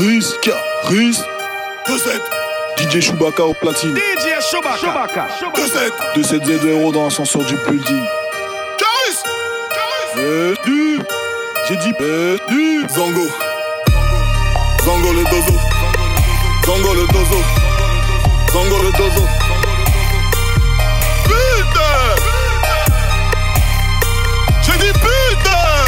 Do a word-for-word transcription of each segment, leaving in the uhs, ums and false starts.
Caris, Caris. deux sept D J Chewbacca au platine. D J Chewbacca. deux sept deux sept zéro dans l'ascenseur du building. Caris. Venu. J'ai dit venu. Zango. Zango le dozo. Zango le dozo. Zango le dozo. Putain. J'ai dit putain.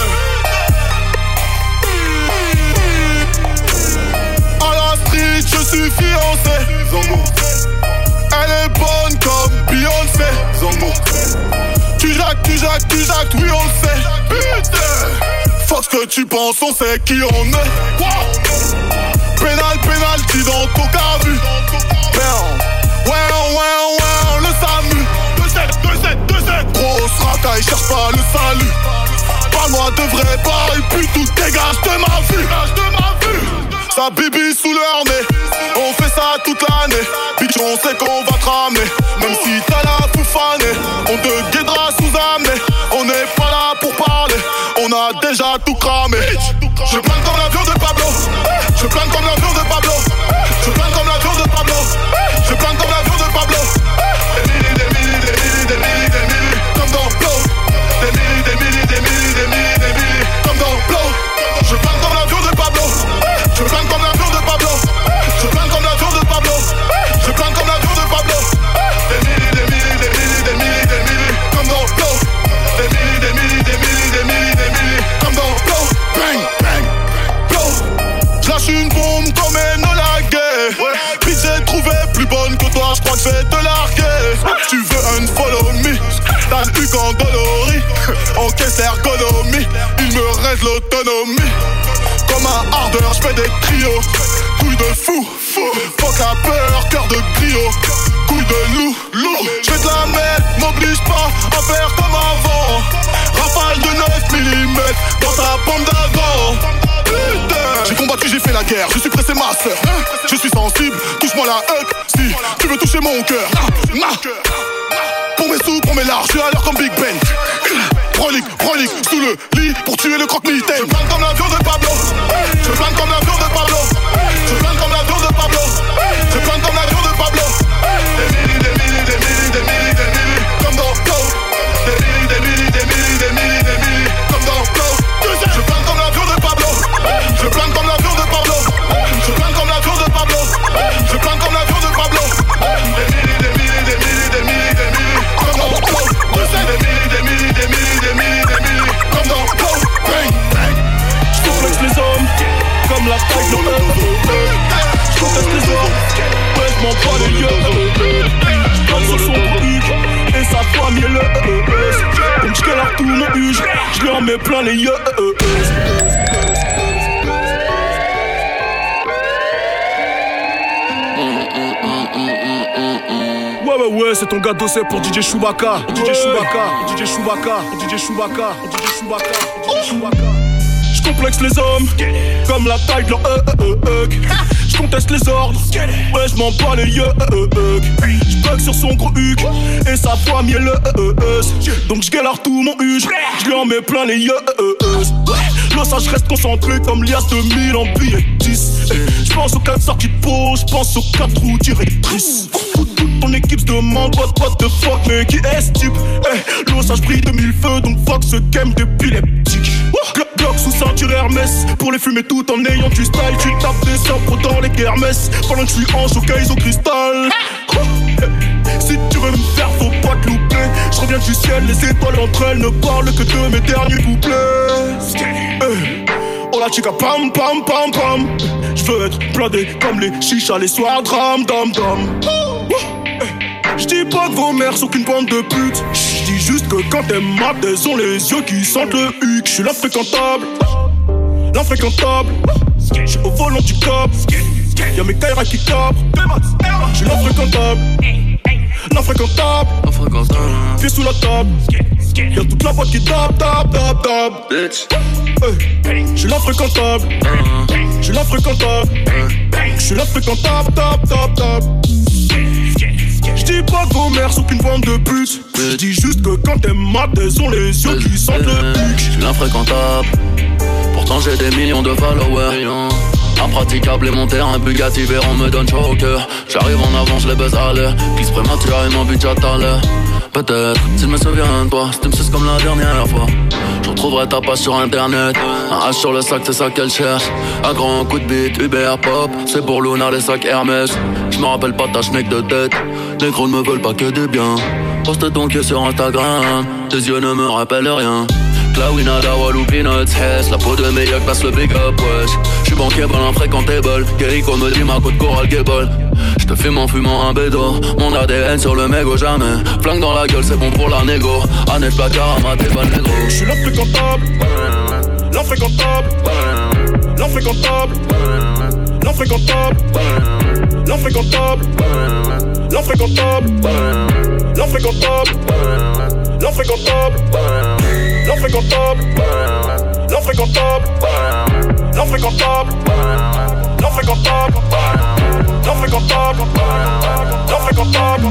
À la street je suis fiancé. Zango. Elle est bonne comme Beyoncé. Zango. Tu jacques, tu jacques, tu jacques, oui on le sait. Putain. Fuck ce que tu penses, on sait qui on est. Pénal, pénalty dans ton cabu. Ouais, ouais, ouais, le SAMU. deux sept, deux sept, deux sept. Grosse racaille, cherche pas le salut. Parle-moi de vrai bail, puis tout dégage de ma vue. Sa bibi sous leur nez. On fait ça toute l'année. Bitch, on sait qu'on va te ramener. Même si t'as la foufanée, on te guidera sous amener. On n'est pas là pour parler. On a déjà tout cramé. Je plane comme l'avion de Pablo. Je plane comme l'avion de Pablo. Je plane comme l'avion de Pablo. Je plane comme l'avion de Pablo. Des milli, des milli, des milli, des milli, des milli, comme dans Blow. Des milli, des milli, des milli, des milli, des milli, comme dans Blow. Je plane comme l'avion de Pablo. Je plane comme l'avion de Pablo. Je plane comme l'avion de Pablo. Je plane comme l'avion de Pablo. Des milli, des milli, des milli, des milli, des milli, comme dans Blow. Des milli, des milli, des milli, des milli, des milli, comme dans Blow. Bang, bang, Blow. J'lâche une bombe comme Enola Gay. Puis j'ai trouvé plus bonne que toi, j'crois que j'vais te larguer. Tu veux un follow me? T'as le huc en dolorie. Encaisse l'ergonomie. Il me reste l'autonomie. Comme un ardeur, j'fais des trios. Couille de fou, fou. Fuck la peur, cœur de griot. Couille de loup, loup. J'fais de la merde, m'oblige pas à faire comme avant. Rafale de neuf millimètres dans ta pomme d'avant. Putain. J'ai combattu, j'ai fait la guerre, je suis pressé ma sœur. Je suis sensible, touche-moi la huc. Si tu veux toucher mon cœur. Pour mes sous, pour mes larges, je suis à l'heure comme Big Ben. Prolique, prolique, sous le lit pour tuer le croque-mitaine. Je plane comme l'avion de Pablo. Je plane comme l'avion de Pablo. Je plane comme l'avion de Pablo. Je plane comme l'avion de Pablo. Des milli, des milli, des milli, des milli, des milli, comme dans Blow. Des milli, des milli, des milli, des milli, des milli, comme dans Blow. Je plane comme l'avion de Pablo. Je plane comme l'avion de Pablo. Je plane comme l'avion de Pablo. Je plane comme l'avion de Pablo. Des milli, des milli, des milli, des milli, des milli, comme dans Blow. Des milli, des milli, des milli, des milli, des milli, comme dans Blow. Bang, bang. J'complexe les hommes comme la taille de J'conteste les hommes, ouais j'm'en bats les yeux. J'plane sur son huc et sa famille est le donc j'galère tout mon huge, j'lui en mets plein les yeux. Ouais ouais ouais, c'est ton gars dossé pour D J Chewbacca. D J Chewbacca, D J Chewbacca, D J Chewbacca, D J Chewbacca, D J Chewbacca. J'complexe les hommes comme la taille de leur euh euh euh. J'conteste les ordres, ouais j'm'en bats les yeux. J'bug sur son gros huc et sa famille est le donc j'galère tout mon huge, j'lui en mets plein les yeux. Là ça j'reste concentré comme l'I A S deux mille en billet dix. J'pense aux quatre sorties de peau, j'pense aux quatre roues directrices. Toute ton équipe se demande what, what the fuck, mais qui est ce type? Eh, l'eau ça j'brille de mille feux, donc fuck ce game d'épileptique. Glock, Glock sous ceinture Hermès, pour les fumer tout en ayant du style. Tu tapes des samples dans les kermesses, pendant que je suis en showcase au cristal. Si tu veux me faire, faut pas te louper. Je reviens du ciel, les étoiles entre elles ne parlent que de mes derniers couplets. Hey. Oh la chica pam pam pam pam. J'veux être blindé comme les chichas les soirs dram dam dam. J'dis pas que vos mères sont qu'une bande de putes. J'dis juste que quand elles matent, elles ont les yeux qui sentent le huc. J'suis l'infréquentable, l'infréquentable. J'suis au volant du cop. Y'a mes Kaira qui cabrent. J'suis l'infréquentable, l'infréquentable. Pieds sous la table. Y'a toute la boîte qui tape, tape, tape, tape. Hey. J'suis l'infréquentable, j'suis l'infréquentable. J'suis l'infréquentable, tape, tape, tape. J'dis pas que vos mères sont qu'une bande de putes. J'dis juste que quand elles matent, elles ont les yeux qui sentent le huc. J'suis l'infréquentable, pourtant j'ai des millions de followers. Impraticable et mon terrain Bugatti Veyron me donne chaud au cœur. J'arrive en avant, je les baise à l'air. Glisse prématurément, but j'attends l'heure. Peut-être, s'il me souvient de toi, si tu me suces comme la dernière fois, je retrouverai ta page sur internet. Un H sur le sac, c'est ça qu'elle cherche. Un grand coup de bite, Uber Pop, c'est pour Luna les sacs Hermès. Je me rappelle pas ta schneck de tête. Les gros ne me veulent pas que du bien. Poste ton cul sur Instagram, tes yeux ne me rappellent rien. Clawina, Dawalou, Peanuts, Hess. La peau de meilleur passe le big up, wesh. J'suis bankable, infréquentable. Gerico me dit ma côte Coral Gable. J'te fume en fumant un bédo. Mon A D N sur le mégot jamais. Flingue dans la gueule, c'est bon pour la négo. Annette placard, amaté, pas le négro. J'suis l'infréquentable, l'infréquentable, l'infréquentable, l'infréquentable, l'infréquentable, l'infréquentable, l'infréquentable, l'infréquentable, l'infréquentable, l'infréquentable, l'infréquentable, l'infréquentable, l'infréquentable, l'infréquentable,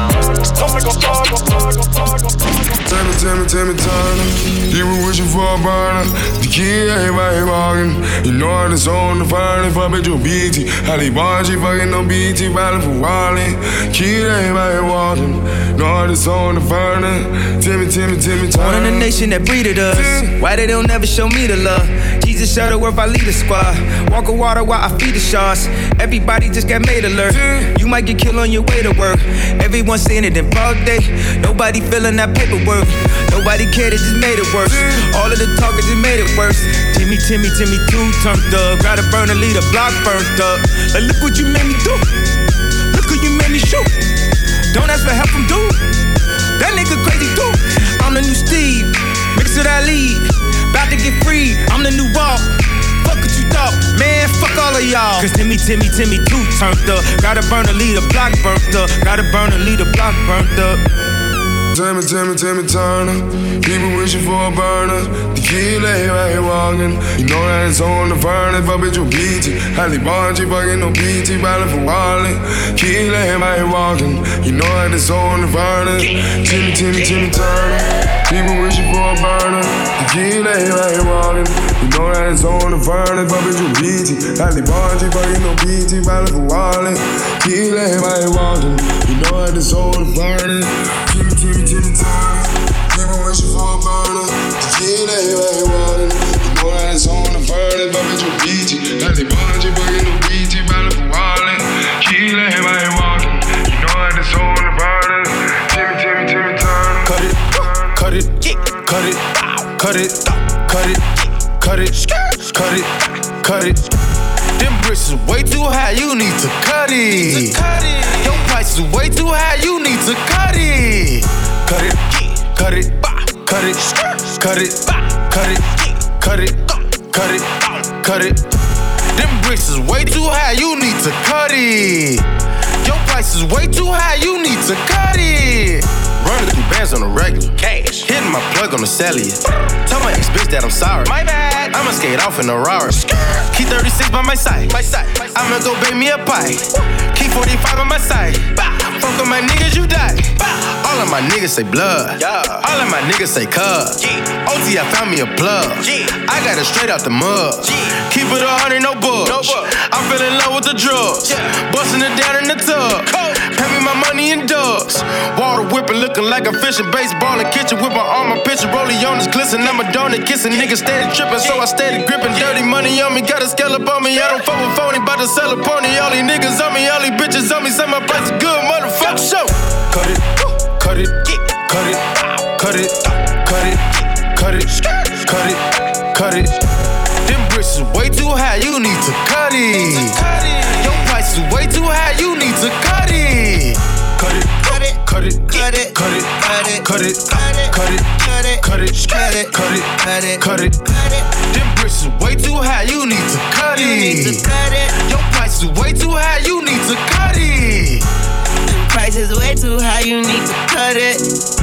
Tell me, tell me, tell me, Turner. You were wishing for a burner. The kid, everybody walking. You know it's on the furnace. Fuck with your B T. Holly Barge, fucking no B T. Ballin' for Wally. Kid, everybody walking. Know it's on the furnace. Tell me, tell me, tell me, Turner. Born in the nation that breeded us. Why they don't never show me the love? Jesus Shuttleworth, I lead the squad. Walk on water while I feed the sharks. Everybody just got made alert. You might get killed on your way to work. Everyone seeing it in broad day. Nobody feeling that paperwork. Nobody cared, it just made it worse. All of the talkers just made it worse. Timmy, Timmy, Timmy, two turned up. Gotta burn a lead, a block burnt up. Like, look what you made me do. Look who you made me shoot. Don't ask for help from dude. That nigga crazy too. I'm the new Steve, mix of that lead. About to get free, I'm the new Walt. Fuck what you thought, man, fuck all of y'all. Cause Timmy, Timmy, Timmy, two turned up. Gotta burn a lead, a block burnt up. Gotta burn a lead, a block burnt up. Tell me, tell me, tell me, Turner. People wishing for a burner. The kid lay right here walking. You know that it's on the furnace. Fuck with your B T. Holly Barge, fucking no B T. Ballin' for Wally. Kid lay right here walking. You know that it's on the furnace. Timmy, Timmy, Timmy, Turner. People wishing for a burner. The kid lay right here walking. You know that it's on the furnace. Fuck with your B T. Holly Barge, fucking no B T. Ballin' for Wally. Kid lay right here walking. You know that it's on the furnace. Timmy, Timmy, Timmy, Turner. People wishing for a burner. The kid ain't right walking. You know that it's on the furnace. Fuck with your B T. Holly Barge, fucking no B T. Ballin' for Wally. Kid ain't right walking. You know that it's on the furnace. Timmy, Timmy, Timmy, Turner. Cut it, cut it, cut it, cut it, cut it, cut it, cut it, cut it. Them bricks is way too high, you need to cut it. Your price is way too high, you need to cut it. Cut it, cut it, cut it, cut it, cut it, cut it, cut it, cut it. Them bricks is way too high, you need to cut it. Your price is way too high, you need to cut it. Running through bands on the regular. Cash. Hitting my plug on the cellular. Tell my ex bitch that I'm sorry. My bad. I'ma skate off in a Rari. Key thirty-six by my side. My side. I'ma go bake me a pie. Key forty-five on my side. Fuck with my niggas, you die. All of my niggas say blood. All of my niggas say cub. O T, I found me a plug. I got it straight out the mud. Keep it a hundred, no bugs. I fell in love with the drugs. Busting it down in the tub. Pay me my money in dubs. Water whipping, looking like a fishing. Baseball in the kitchen with my arm, my picture. Rollie on his glisten. I'm a donut kissing. Niggas steady tripping, so I steady gripping. Dirty money on me, got a scallop on me. I don't fuck with phony, bout to sell a pony. All these niggas on me, all these bitches on me. Say my price is good, motherfucker. Show. Cut it, cut it, cut it, cut it, cut it, cut it, cut it, cut it. Them bricks is way too high, you need to cut it. Your price is way too high, you need to cut it. Cut it, cut it, cut it, cut it, cut it, cut it, cut it, cut it, cut it, cut it, cut it, cut it. Them bricks is way too high, you need to cut it. Your price is way too high, you need to cut it. Price is way too high, you need to cut it.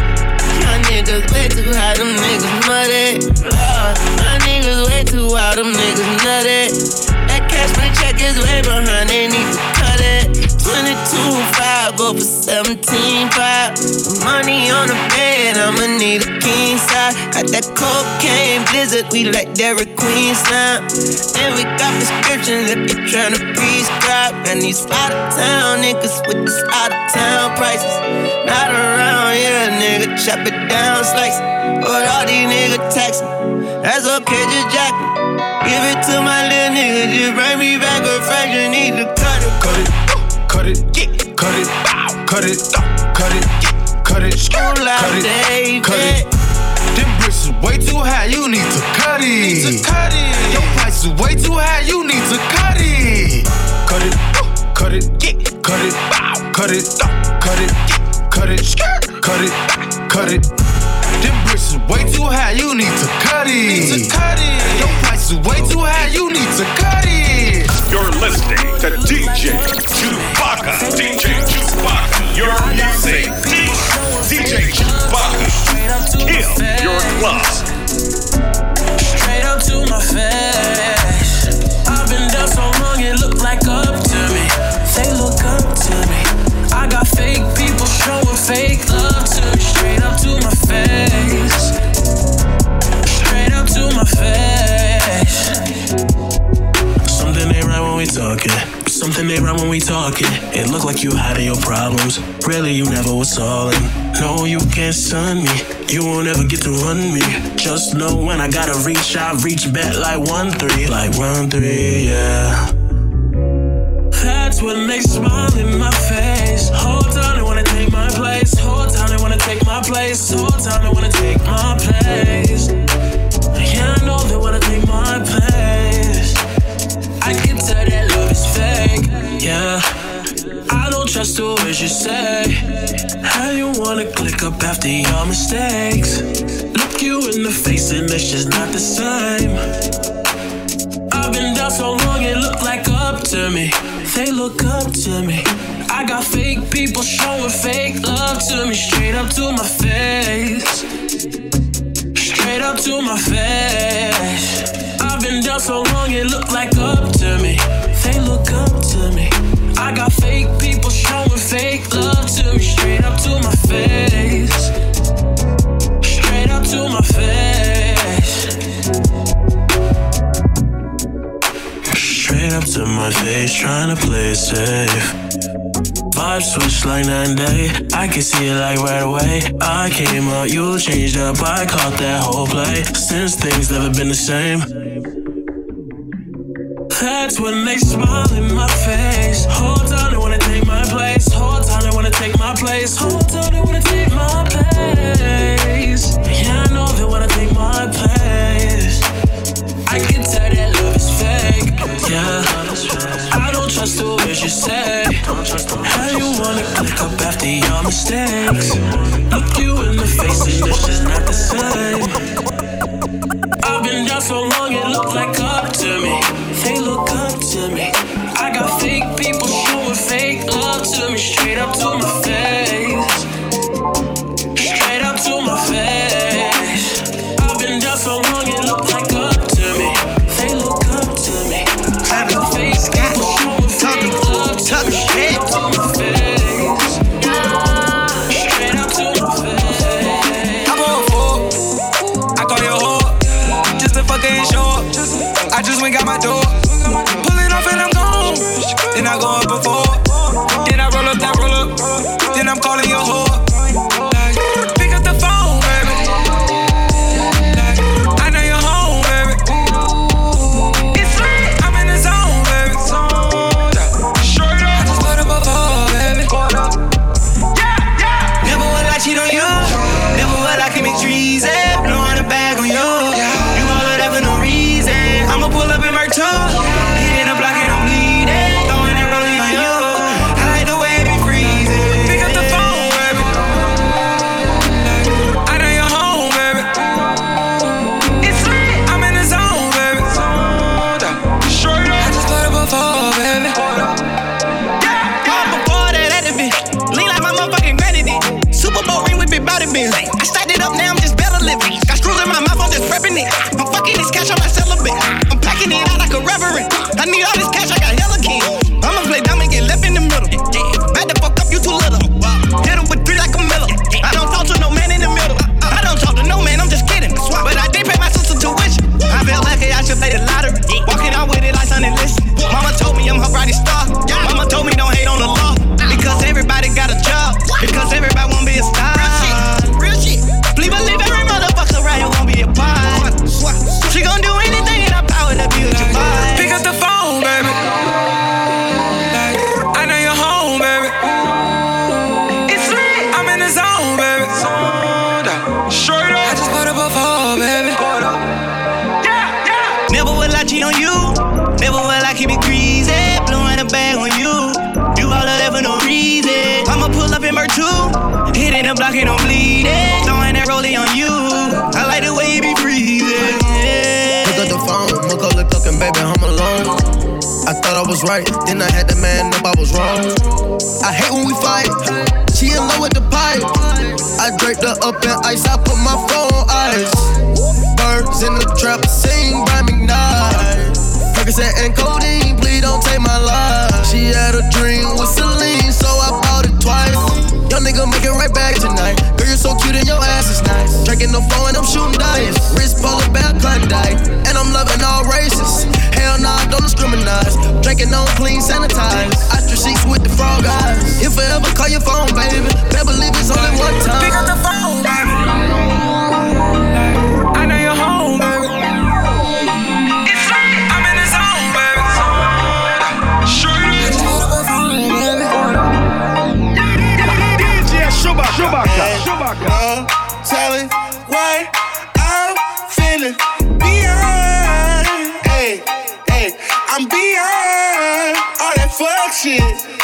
My niggas way too high, them niggas muddy. Lord, my niggas way too high, them niggas nutty. That cash money check is way behind, they need to cut it. twenty-two five, go for seventeen five. The money on the bed, then I'ma need a king size. Got that cocaine blizzard, we like Dairy Queen slime. And we got prescriptions if you're tryna prescribe. And these out of town niggas with these out of town prices. Not around here, nigga, chop it down, slice it. But all these niggas taxing, that's okay, just jack it. Give it to my little nigga, just bring me back a fraction, need to cut it. Cut it, cut it, cut it, cut it, cut it, cut it, cut it, cut it. Them bricks is way too high, you need to cut it. Cut it. Your price is way too high, you need to cut it. Cut it, cut it, cut it, cut it, cut it, cut it, cut it, cut it. Them bricks is way too high, you need to cut it. Cut it. Your price is way too high, you need to cut it. You're listening to D J Chewbacca. D J Chewbacca. Your music. D J Chewbacca. Kill your club. Straight up to my face. I've been down so long, it look like up to me. They look up to me. I got fake people showing fake love to me. Straight up to my face. Straight up to my face. Something ain't right when we talking. Something ain't right when we talking. It look like you hiding your problems. Really, you never was stalling. No, you can't stun me. You won't ever get to run me. Just know when I gotta reach, I reach back like one three, like one three, yeah. That's what makes smile in my face. Whole time they wanna take my place. Whole time they wanna take my place. Whole time they wanna take my place. Yeah, I know they wanna take my place. I can tell that love is fake, yeah. I don't trust the words you say. How you wanna click up after your mistakes? Look you in the face and it's just not the same. I've been down so long it look like up to me. They look up to me. I got fake people showing fake love to me. Straight up to my face. Straight up to my face. I've been down so long it look like up to me. They look up to me. I got fake people showing fake love to me. Straight up to my face. Straight up to my face. Straight up to my face, trying to play it safe. Vibes switch like night and day. I can see it like right away. I came out, you changed up. I caught that whole play. Since things never been the same. That's when they smile in my face. Whole time they wanna take my place. Whole time they wanna take my place. Whole time they wanna take my place. Yeah, I know they wanna take my place. I can tell that love is fake. Yeah, I don't trust the words you say. How you wanna click up after your mistakes? Look you in the face and it's just not the same. I've been down so long it look like up to me. They look up to me. I got fake people showing fake love to me. Straight up to my face. Straight up to my face. I've been down so long it look like up to me. They look up to me. I got fake people showing fake love to me. Straight up to my face. Straight up to my face. I'm on four. I call your whore. Just a fucking show. I just went got my door. Pulling off and I'm gone. Then I go up before. Then I roll up that roll up. Then I'm calling your whore. Like, pick up the phone, baby. Like, I know you're home, baby. It's lit. I'm in the zone, baby. Straight up. I just put up before, baby. Yeah, yeah. Never will I cheat on you. Never will I commit treason. Blowing a bag on you. You all of that for no reason. I'ma pull up in my toe. Hitting the block and I'm bleeding. Throwing it rolling on you. I like the way it be freezing. Pick up the phone, baby. I know you're home, baby. It's lit. I'm in the zone, baby. Straight up. I just put up before, baby. Yeah, yeah. Before that, that it be lean like my motherfucking granny did. Super Bowl ring with big body bins. I stacked it up, now I'm just better living. Got screws in my mouth, I'm just prepping it. I'm fucking this cash on my celibate. I'm packing it out like a reverend. I need all this cash, I got hella king. I'ma play dumb and get left in the middle. Back the fuck up, you too little. Hit him with three like a Miller. I don't talk to no man in the middle. ain't no bleeding. Throwing that rollie on you. I like the way you be breathing. Yeah. Pick up the phone, look up the clock and baby, I'm alone. I thought I was right, then I had to man up, I was wrong. I hate when we fight. She in love with the pipe. I draped her up in ice, I put my phone on ice. Birds in the trap, sing by McKnight. Percocet and codeine, please don't take my life. She had a dream with Celine, so I bought it twice. Young nigga make it right back tonight. Girl, you're so cute and your ass is nice. Drinking no phone and I'm shooting dice. Wrist polar bear Klondike, and I'm loving all races. Hell nah, don't discriminate. Drinking on clean, sanitized. Ostrich sheets with the frog eyes. If I ever call your phone, baby, better believe it's only one time. Pick up the phone, baby. I know you're home, baby. It's late, I'm in the zone, baby. D J Chewbacca, Chewbacca. Tell it what I'm feeling. Beyond, hey, hey, I'm beyond all that fuck shit.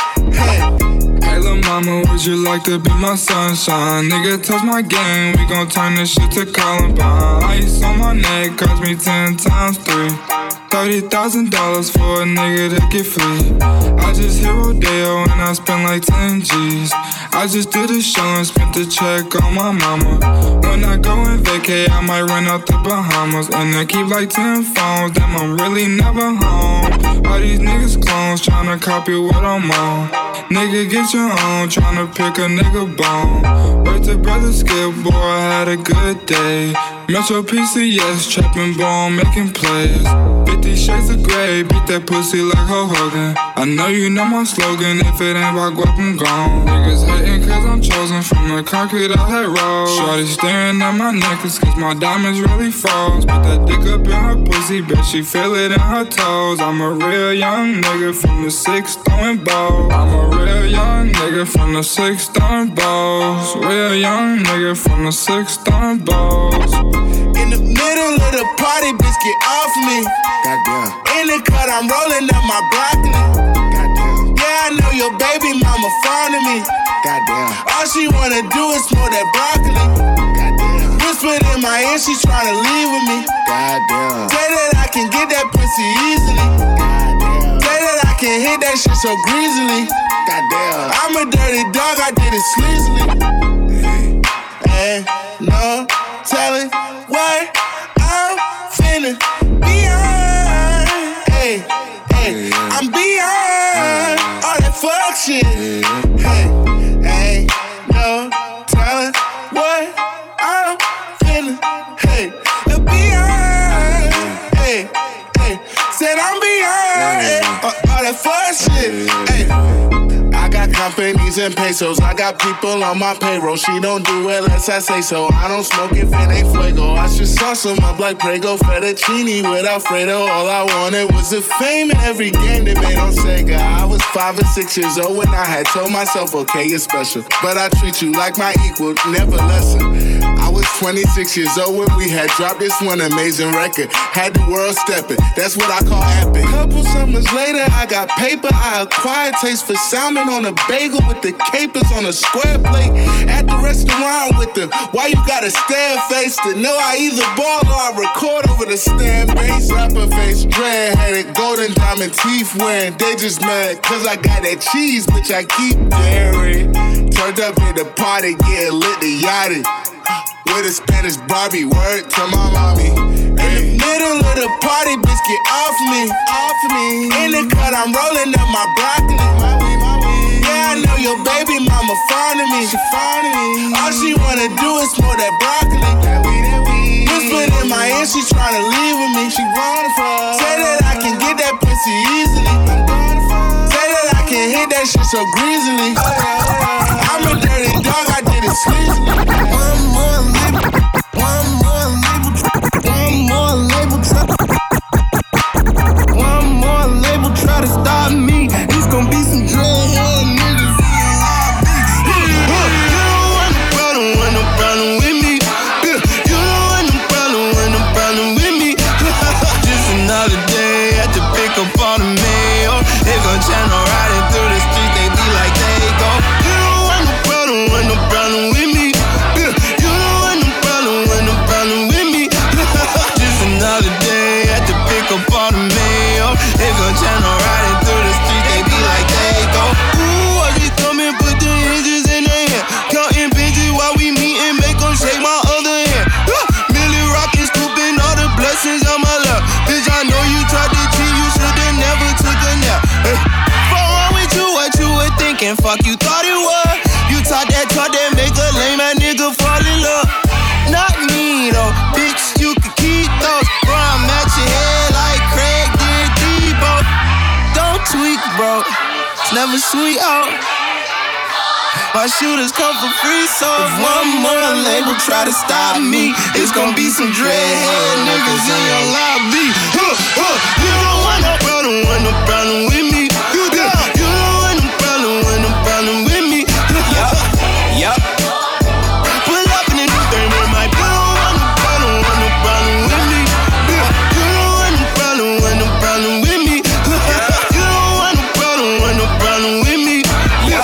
Hey. Hey, lil' mama, would you like to be my sunshine? Nigga, touch my game, we gon' turn this shit to Columbine. Ice on my neck cost me ten times three. Thirty thousand dollars for a nigga to get free. I just hit Rodeo and I spent like ten G's. I just did a show and spent the check on my mama. When I go and vacay, I might run out the Bahamas. And I keep like ten phones, damn, I'm really never home. All these niggas clones tryna copy what I'm on. Nigga, get your own, tryna pick a nigga bone. Word to brother Skip, boy, I had a good day. Metro P C S, trapping ball, making plays. Fifty shades of grey, beat that pussy like Hulk Hogan. I know you know my slogan, if it ain't about guap, I'm gone. Niggas hating cause I'm chosen from the concrete I had rolled. Shorty staring at my necklace cause my diamonds really froze. Put that dick up in her pussy, bet she feel it in her toes. I'm a real young nigga from the six throwing balls. I'm a real young nigga from the six throwing balls. Real young nigga from the six throwing balls. In the middle of the party, bitch, get off me. Goddamn. In the cut, I'm rolling up my broccoli. Goddamn. Yeah, I know your baby mama fond of me. Goddamn. All she wanna do is smoke that broccoli. Goddamn. Whispered in my ear, she tryna leave with me. Goddamn. Say that I can get that pussy easily. Goddamn. Say that I can hit that shit so greasily. Goddamn. I'm a dirty dog, I did it sleazily. Hey, no telling what I'm feeling. Beyond, hey, hey, I'm beyond all that fuck shit. Hey, hey, no telling what I'm feeling. Hey, beyond, hey, hey, said I'm beyond hey, all that fuck shit. Hey. I got companies and pesos, I got people on my payroll. She don't do it unless I say so. I don't smoke if it ain't fuego. I should sauce them up like Prego fettuccine with Alfredo. All I wanted was the fame in every game they made on Sega. I was five or six years old when I had told myself, okay, you're special, but I treat you like my equal, never lesser. I was twenty-six years old when we had dropped this one amazing record. Had the world stepping, that's what I call epic. Couple summers later, I got paper. I acquired taste for salmon on a bagel with the capers on a square plate. At the restaurant with the why you gotta stare face to know I either ball or I record over the stand bass. Rapper face, dread-headed, golden diamond teeth wearing. They just mad cause I got that cheese, bitch, I keep daring. Turned up at the party, getting lit the yachty. With a Spanish Barbie, word to my mommy. In the middle of the party, bitch, get off me, off me. In the cut, I'm rolling up my broccoli. Yeah, I know your baby mama fond of me. She fond of me. All she wanna do is smoke that broccoli. Whispered in my ear, she tryna leave with me. She wanna fall. Say that I can get that pussy easily. Say that I can hit that shit so greasily. I'm a dirty dog, I did it sleazily. One more label, one more label, one more label, one more label try to stop me. It's gonna be some dreadhead niggas. You don't want no problem, want no problem with me. You don't want no problem, want no problem with me. Just another day at the pick up on the mail. They gon' channel riding through the streets, they be like they go. You don't want no problem, want no problem with me. than fuck you thought it was. You talk that talk that make a lame ass nigga fall in love. Not me though, bitch, you can keep those. Bro, I'm at your head like Craig did Debo. Don't tweak, bro, it's never sweet out. My shooters come for free, so if one more label try to stop me, it's gonna be some dreadhead niggas in your lobby. Huh, huh, you don't want no problem, want no problem with me. You don't, you don't want no problem, want no problem with me. Yup, yup. Pull up in the new thing with my. You don't want no problem, want no problem with me. You don't want no problem, want no problem with me. You don't want no problem, want no problem with me. Yeah.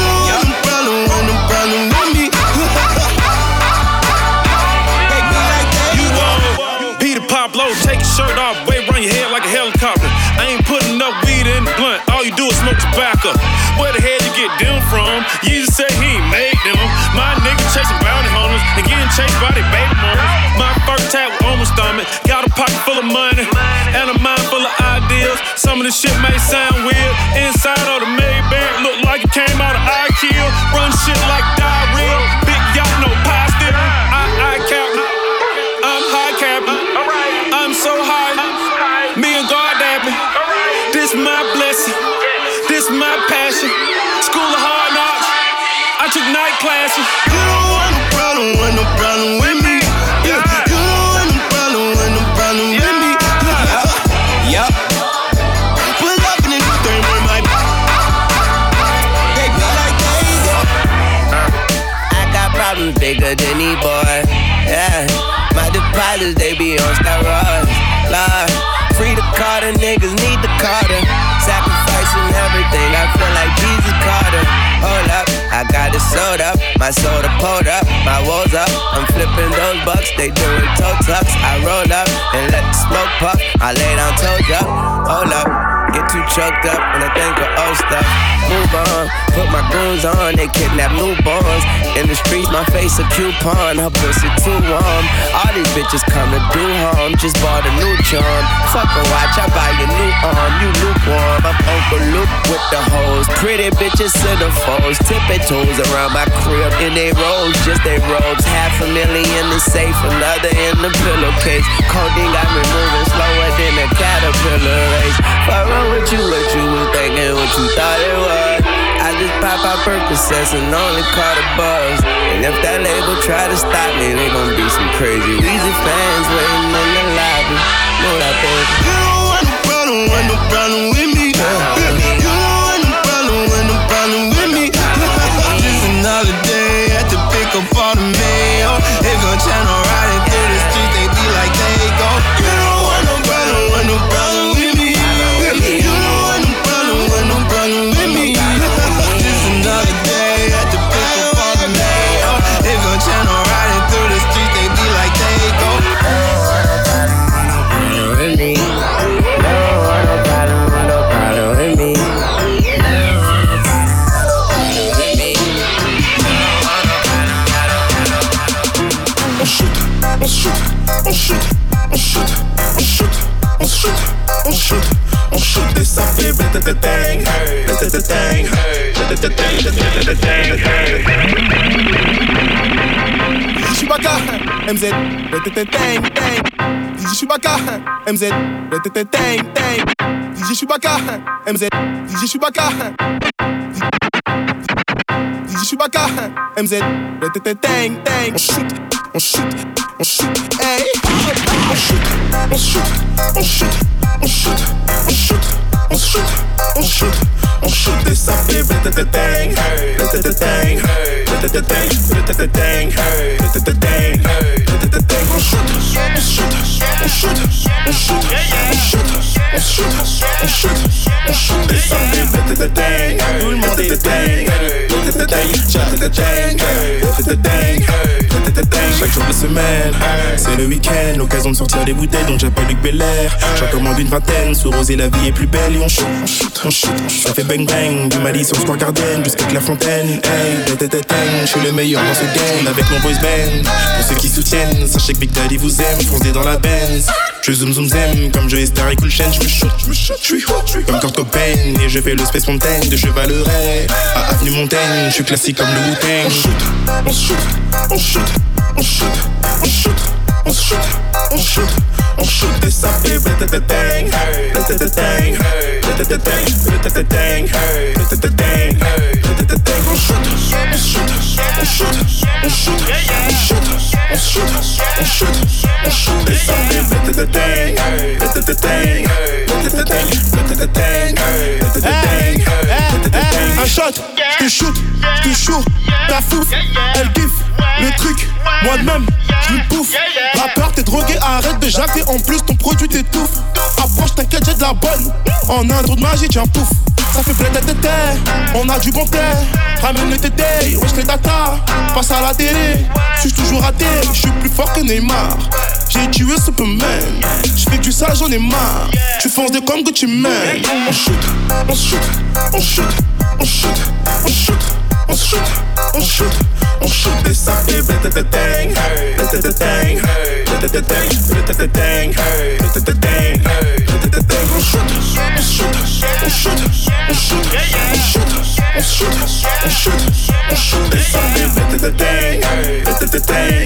Low, take your shirt off, wave around your head like a helicopter. I ain't putting no weed in the blunt, all you do is smoke tobacco. Where the hell you get them from? Jesus said he ain't made them. My nigga chasing bounty hunters and getting chased by their baby mamas. My first tap was on my stomach, got a pocket full of money and a mind full of ideas. Some of this shit may sound weird. Inside of the Maybach, look like it came out of I-Kill. Run shit like diarrhea, big yacht, no pie still. I, I cap, I'm high capping. I'm so high, me and God at me. This my blessing, this my passion. School of hard knocks, I took night classes. You don't want no problem, want no problem with me. Yeah. You don't want no problem, want no problem with me. Yup, yup. Pull up in the new thing with my. They be like they go. I got problems bigger than these boys. Yeah. My deposits, they be on steroids. Lord, free the Carter, niggas need the Carter. Sacrificing everything, I feel like Jesus Carter. Hold up, I got it sold up. My soda pulled up, my woes up. I'm flipping those bucks, they doing toe tucks. I roll up and let the smoke puff. I lay down toes up, hold up. Get too choked up when I think of old stuff. Move on, put my goons on, they kidnap newborns. In the streets, my face a coupon, her pussy too warm. All these bitches come to do harm, just bought a new charm. Fuck a watch, I buy a new arm, you lukewarm. I'm Uncle Luke with the hoes, pretty bitches centerfolds. Tipping toes around my crib in they robes, just they robes. Half a million in safe, another in the pillowcase. Codeine got me moving slower than a caterpillar race. Fuck with you, what you was thinking, what you thought it was. I just pop out Percocets and only caught a buzz. And if that label try to stop me, they gon' be some crazy Weezy fans waiting in the lobby. Know that, baby. You don't want no problem, want no problem with me. You don't want no problem, want no problem with me. Just another day at the pick up on the mail. They gon' channel riding through the streets, they be like they go. You don't want no problem, want no problem with me. You don't want no problem, want no problem with me. Just another day at the pick up on the mail. They gon' channel riding through the streets, they be like they go. With me, no want no problem, want no problem with me. On shoot, on shoot, on shoot, on shoot, on shoot, on shoot, on shoot, on shoot, et ça fait bang, bang, bang. Chewbacca, M Z, bang, bang. D J Chewbacca, M Z, bang, bang. D J Chewbacca, M Z, D J Chewbacca. D J Chewbacca, M Z, bang, bang. On shoot, on shoot, on shoot, hey. On shoot, on shoot, on shoot, on shoot, on shoot, on shoot, on shoot, on shoot, et ça fait bang, bang, bang, bang, bang. On shoot, on shoot, on shoot, on shoot, on shoot, on shoot, on shoot, on shoot, et ça fait bang, bang, bang. Tout le monde est bang, bang, bang. Chaque jour de semaine, c'est le week-end, l'occasion de sortir des bouteilles dont j'appelle Luc Belair. J'en commande une vingtaine, sous rosé la vie est plus belle et on shoot, on shoot, on shoot, ça fait bang bang, du Mali sur Square Garden jusqu'à Clairefontaine. Hey, je suis le meilleur dans ce game avec mon boys band. Pour ceux qui soutiennent, sachez que Big Daddy vous aime, foncez dans la Benz. Je zoom zoom zem, comme Joey Star et Cool Chain, je me shoot, je me shoot, je suis hot, je suis comme Kurt Cobain. Et je fais le Space Mountain de Chevaleret à Avenue Montaigne, je suis classique comme le Wu-Tang. On shoot, on shoot, on shoot, on shoot, on shoot, on shoot, on shoot, on shoot, et ça fait bling, bling, on shoot, on shoot, on shoot, on shoot, on shoot, on shoot, on shoot, on shoot, et ça fait bling, un shot, je te shoot, je te shoot, ta fouf, elle kiffe le truc, moi de même, je lui bouffe. Rappeur, t'es drogué, arrête de jacter, en plus ton produit t'étouffe. Approche, t'inquiète, j'ai de la bonne, en un trou de magie, tiens pouf. Ça fait plein de tétés, on a du bon thé. Ramène le tété, wesh les data. Passe à la télé, suis toujours raté. J'suis plus fort que Neymar. J'ai tué Superman. J'fais que du sale, j'en ai marre. Tu fonces des comme Gucci Mane. On shoot, on shoot, on shoot, on shoot, on shoot, on shoot, on shoot, on shoot, et ça fait bling, bling, bling, bling, bling, bling, on shoot, on shoot, on shoot, on shoot, on shoot, on shoot, on shoot, on shoot, et ça fait bling, bling, bling,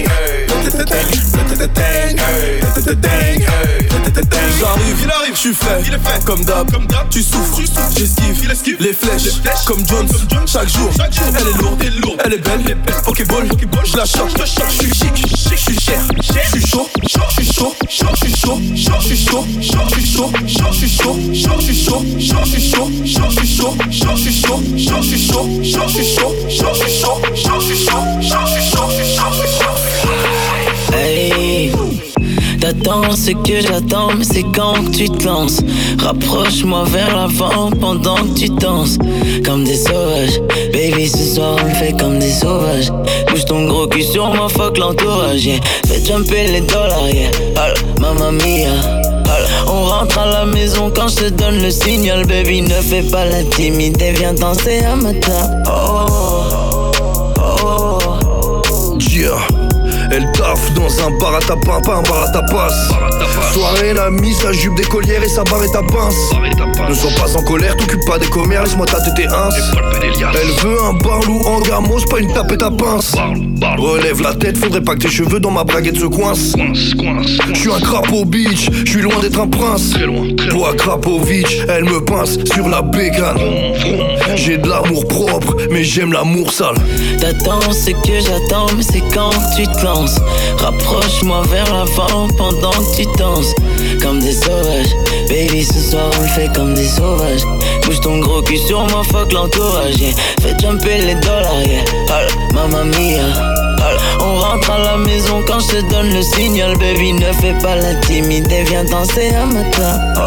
j'arrive, il arrive, j'suis frais, il est fait, comme d'hab, tu souffres, j'esquive, les flèches, comme Jones, chaque jour, elle est lourde, elle est belle, Pokéball, je la chope, j'suis chic, j'suis cher, j'suis chaud, j'suis chaud, j'suis chaud, j'suis chaud, j'suis chaud, j'suis chaud, j'suis chaud, j'suis chaud, j'suis chaud, j'suis chaud, j'suis chaud, j'suis chaud, j'suis chaud, j'suis chaud, j'suis chaud, j'suis chaud. Hey, t'attends ce que j'attends, mais c'est quand que tu te lances. Rapproche-moi vers l'avant pendant que tu danses. Comme des sauvages, baby ce soir on le fait comme des sauvages. Bouge ton gros cul sur moi, fuck l'entourage, yeah. Fais jumper les dollars, yeah. Hola, mamma mia. Hola. On rentre à la maison quand je te donne le signal. Baby ne fais pas la timide et viens danser à ma table. Oh, oh, oh. Yeah. Elle taffe dans un bar à tapin, pas un bar à tapas. Soirée, elle a mis sa jupe d'écolière et sa barre et ta pince. Ne sois pas en colère, t'occupe pas des commères, laisse-moi ta tête et ins. Elle veut un barlou en gamos, pas une tapette à pince. Relève la tête, faudrait pas que tes cheveux dans ma braguette se coincent. J'suis un crapaud bitch, j'suis loin d'être un prince. Toi Krapovic, elle me pince sur la bécane. J'ai de l'amour propre, mais j'aime l'amour sale. T'attends ce que j'attends, mais c'est quand que tu te lances. Rapproche-moi vers l'avant pendant que tu danses. Comme des sauvages, baby ce soir on le fait comme des sauvages. Bouge ton gros cul sur moi, fuck l'entourage, yeah. Fais jumper les dollars, yeah. Hola, mamma mia. Hola. On rentre à la maison quand je te donne le signal. Baby ne fais pas la timide et viens danser à ma table.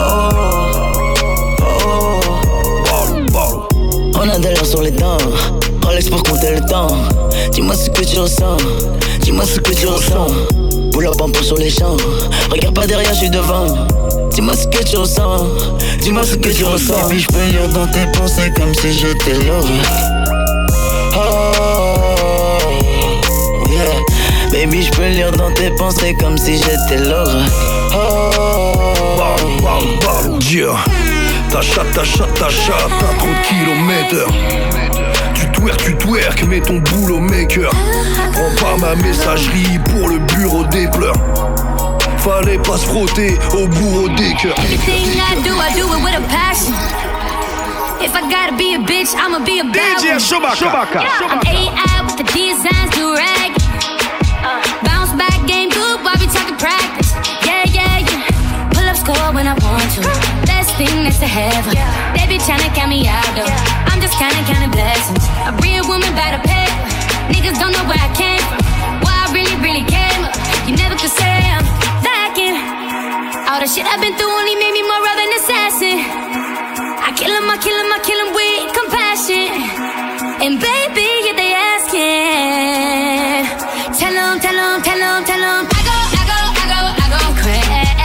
Oh, oh, oh. On a de l'or sur les dents, Rolex pour compter le temps. Dis-moi ce que tu ressens, dis-moi ce que tu ressens. Pull up en pour sur les champs, regarde pas derrière, je suis devant. Dis-moi ce que tu ressens, dis-moi ce que tu ressens. Baby, je peux lire dans tes pensées comme si j'étais l'or. Oh, yeah. Baby, je peux lire dans tes pensées comme si j'étais l'or. Oh, yeah. Ta chatte, ta chatte, ta chatte, t'as trop de kilomètres. Tu twerk, tu twerk, mets ton boulot maker. Prends pas ma messagerie pour le bureau des pleurs. Fallait pas se frotter au bourreau des cœurs. Everything I do, I do it with a passion. If I gotta be a bitch, I'ma be a bad D J one. Chewbacca. Yeah, I'm A I with the designs, do rag. Uh, bounce back, game good, while we talking practice. Yeah, yeah, yeah. Pull up score when I want to. Best thing next to heaven. They be tryna count me out though. I'm just kinda counting blessings. A real woman by the pay. Niggas don't know where I came from. Why I really, really came up. You never could say I'm lacking. All the shit I've been through only made me more of an assassin. I kill him, I kill him, I kill him with compassion. And baby, yeah, they asking. Tell him, tell him, tell him, tell him. I go, I go, I go, I go crazy.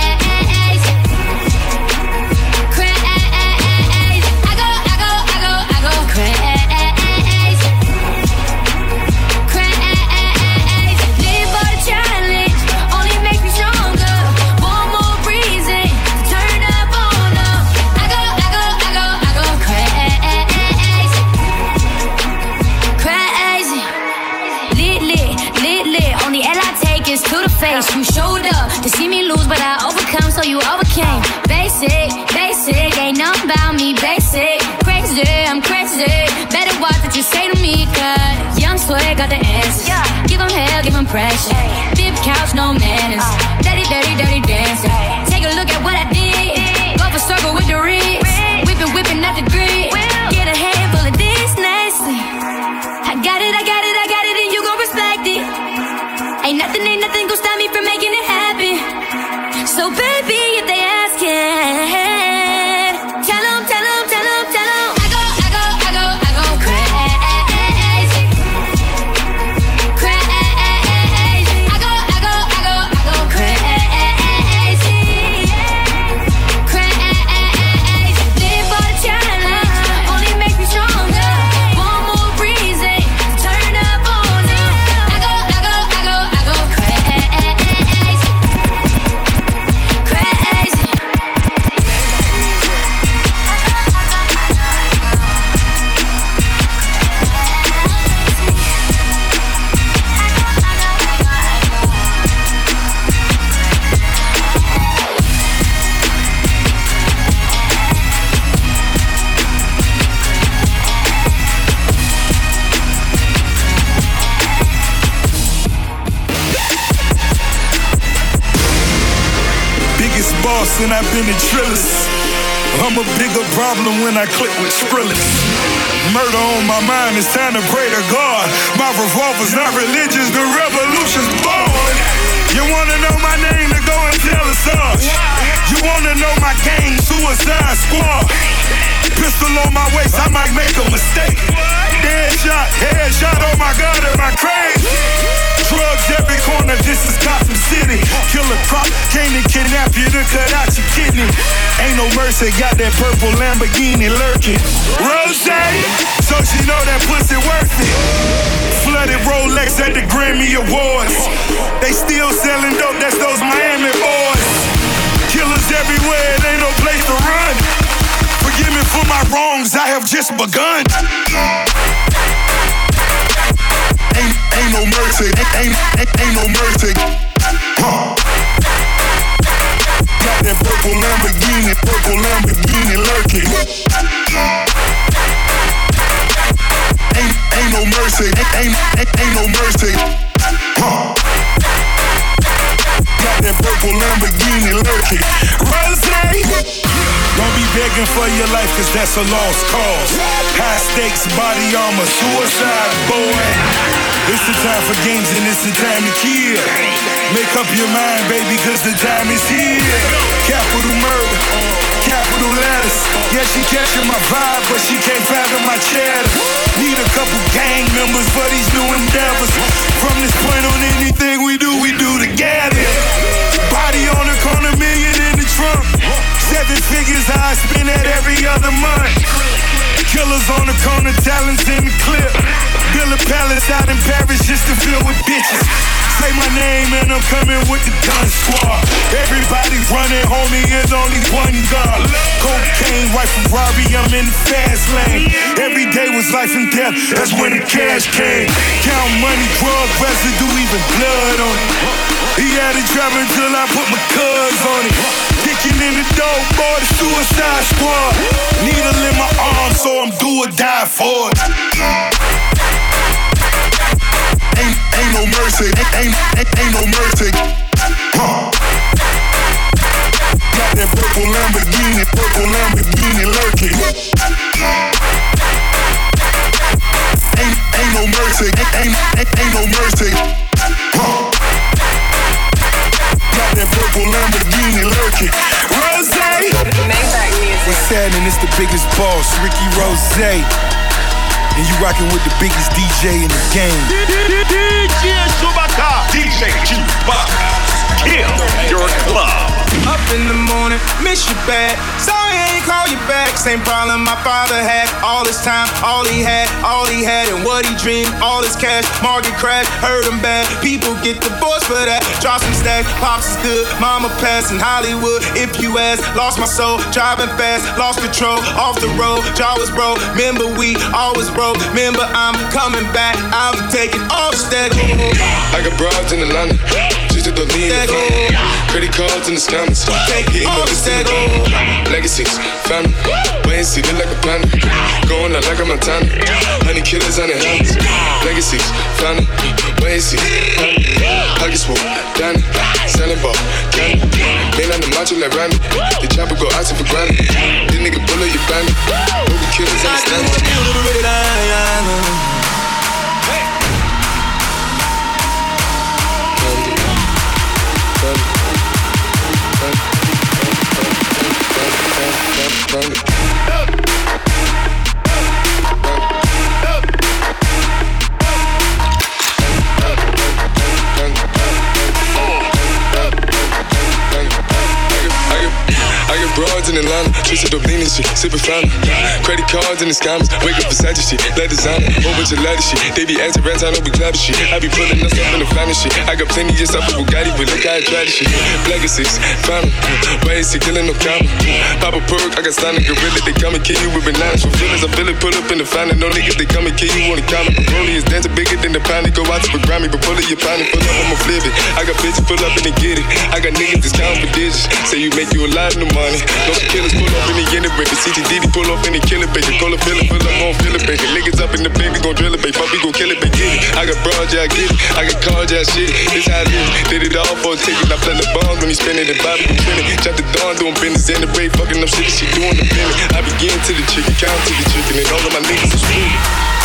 Crazy. I go, I go, I go, I go crazy. Crazy. Live for the challenge, only makes me stronger. One more breathe. face. You showed up to see me lose, but I overcome, so you overcame. Basic, basic, ain't nothing about me, basic. Crazy, I'm crazy. Better watch what you say to me, cause young swag got the answers. Give him hell, give him pressure. Big couch, no manners. Dirty, dirty, dirty dancing. Take a look at what I did. Go for circle with the wrist. Whipping, whipping at the grid. Get a handful of this nicely. I got it, I got it, I got it, and you gon' respect it. Ain't nothing, ain't nothing gon' stop me from making it happen. So baby, if they askin', tell them, tell them, tell them, tell them. I go, I go, I go, I go crazy. Crazy. I go, I go, I go, I go crazy. Crazy. Live for the challenge, only makes me stronger. One more reason to turn up on them. I go, I go, I go, I go crazy. Crazy. Biggest boss and I've been the trillest. I'm a bigger problem when I click with Skrillex. Murder on my mind, it's time to pray to God. My revolver's not religious, the revolution's born. You wanna know my name, to go and tell us all. You wanna know my gang, Suicide Squad. Pistol on my waist, I might make a mistake. Deadshot, headshot, oh my God, am I crazy? Drugs every corner, this is Gotham City. Killer crop, came to kidnap you to cut out your kidney. Ain't no mercy, got that purple Lamborghini lurking. Rose, so she know that pussy worth it. Flooded Rolex at the Grammy Awards. They still selling dope, that's those Miami boys. Killers everywhere, it ain't no place to run. Forgive me for my wrongs, I have just begun. Ain't, ain't no mercy, ain't, ain't, ain't no mercy. Huh. Got that purple Lamborghini, purple Lamborghini lurking. Ain't, ain't no mercy, ain't, ain't, ain't no mercy. Huh. Got that purple Lamborghini lurking. Rose, don't be begging for your life, cause that's a lost cause. High stakes, body armor, suicide, boy. It's the time for games and it's the time to kill. Make up your mind, baby, cause the time is here. Capital murder, capital letters. Yeah, she catching my vibe, but she can't fathom my cheddar. Need a couple gang members for these new endeavors. From this point on, anything we do, we do together. Body on the corner, million in the trunk. Seven figures, I spend that every other month. Killers on the corner, talents in the clip. Build a palace out in Paris just to fill with bitches. Say my name and I'm coming with the gun squad. Everybody running, homie, there's only one gun. Cocaine, right from Robbie, I'm in the fast lane. Every day was life and death, that's when the cash came. Count money, drug residue, even blood on it. He had it driving till I put my cuz on it. Kicking in the door, boy, the Suicide Squad. Needle in my arm, so I'm do or die for it. Ain't, ain't no mercy, ain't, ain't, ain't no mercy. Huh. Got that purple Lamborghini, purple Lamborghini lurking. Ain't, ain't no mercy, ain't, ain't, ain't no mercy. Huh. Got that purple Lamborghini lurking. Rose, what's happening? It's the biggest boss, Ricky Rose. And you rockin' with the biggest D J in the game. D J Chewbacca. D J Chewbacca. Kill your club. Up in the morning, miss you bad. Sorry I ain't call you back. Same problem my father had. All his time, all he had, all he had, and what he dreamed. All his cash, market crash, hurt him bad. People get divorced for that. Drop some stacks, pops is good. Mama passed in Hollywood. If you ask, lost my soul, driving fast, lost control, off the road. Jaw was broke. Remember we always broke. Remember I'm coming back. I'm taking off steady. I got broads in Atlanta. Just Just to lean the phone. Credit cards in the scammers. Hitting the list in the phone. Legacies, family. Wait and see, look like a panda. Going out like a Montana. Honey killers on their hands. Legacies, family. Wait and see, family. Pockets full, Danny. Selling ball, candy. Man on the macho like Randy. The chopper go out for granted. This nigga bullet your bandit. Movie killers on the stand. Broads in Atlanta, twisted up lean and shit, sippin' fountain. Credit cards in the scammers, wake up beside your shit, let designer, whole bunch of leather shit. They be acting rats, I know we clapping shit. I be pulling us up in the finest shit. I got plenty just up with Bugatti, but look how I try this shit. Black is six, fountain, why is he killing no comma? Pop a perk, I got signed a gorilla, they come and kill you with bananas. For feelings, I feel it, pull up in the fountain. No niggas, they come and kill you on the counter. Rollie is dancing bigger than the pound, they go out to the Grammy, but pull it, your pound, pull up, I'ma flip it. I got bitches, pull up and they get it. I got niggas that's counting for digits, say you make you a lot of money. No killers pull up in the unit breaker. C T D D pull up in the killer baker. Call a filler, pull up on filler baker. Niggas up in the bank, we gon' drill it, baby. Fuck, we gon' kill it, baby. Get it. I got broad, yeah, I get it. I got cards, yeah, shit it. This how I live. Did it all for a ticket. I play the bombs when he spinning the Bobby can feel it. Chop the dawn, doing business in the break. Fucking up shit, she doing the feeling. I begin to the chicken, count to the chicken, and all of my niggas is sweet.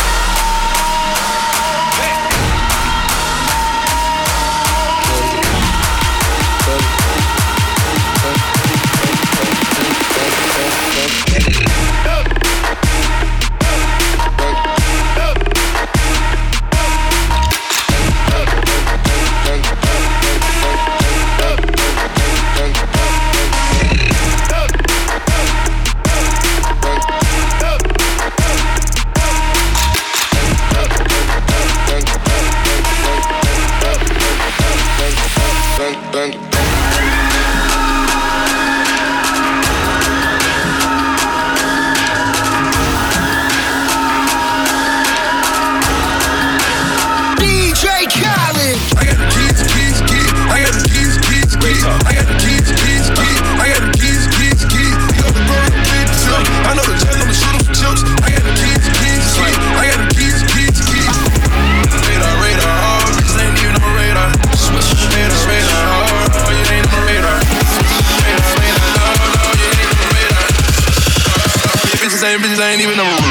Bitches ain't even no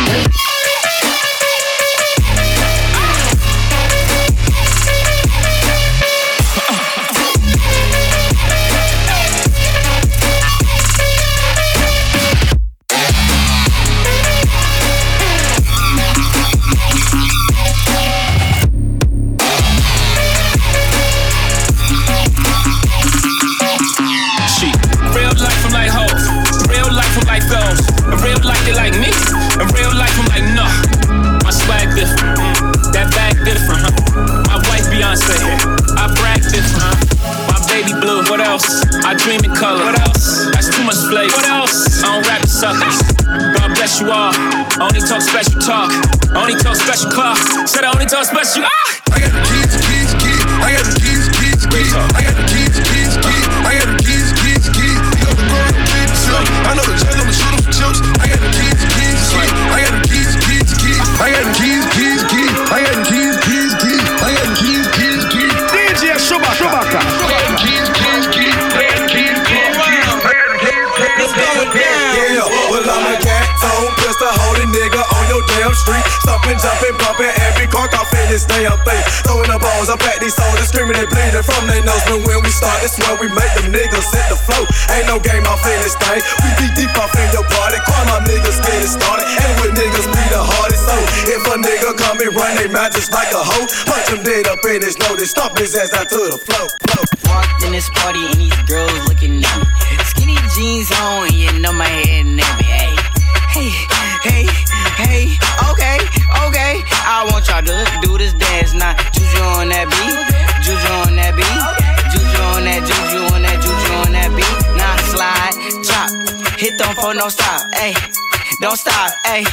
only talk special talk, only talk special clock. Said I only talk special. Ah! I got the keys, keys, keys. I got the keys, keys, keys. I got the keys, keys, keys. I got the keys, keys, keys. You got the girl, keys, keys. I know the judge, I'ma shoot him for chips. I got the keys, keys, keys. I got the keys, keys, keys. I got the keys, keys, keys. I got the keys, keys, keys. I got the keys, keys, keys. D J Chewbacca, Chewbacca. I got the keys, keys, keys. I got the keys, keys, keys. I got the keys, keys. Let's go again. Yeah, well I'm a cat on pistol holding nigga on your damn street. Stomping, jumping, bumping, every car off in this damn thing. Throwing the balls up at these soldiers, screaming and bleeding from their nose. But when we start, it's when we make them niggas hit the flow. Ain't no game off in this thing. We be deep off in your party. Call my niggas get it started. And with niggas be the hardest. So if a nigga come and run they mouth just like a hoe, punch him dead up in his nose and stomp his ass out to the flow. flow. Walked in this party and these girls looking at me. Skinny jeans on and you know my head and everything. Hey, hey, hey, okay, okay. I want y'all to do this dance now. Juju on that beat, juju on that beat, juju on that, juju on that, juju on that beat. Now slide, drop, hit them for no stop, ayy. Don't stop, ayy.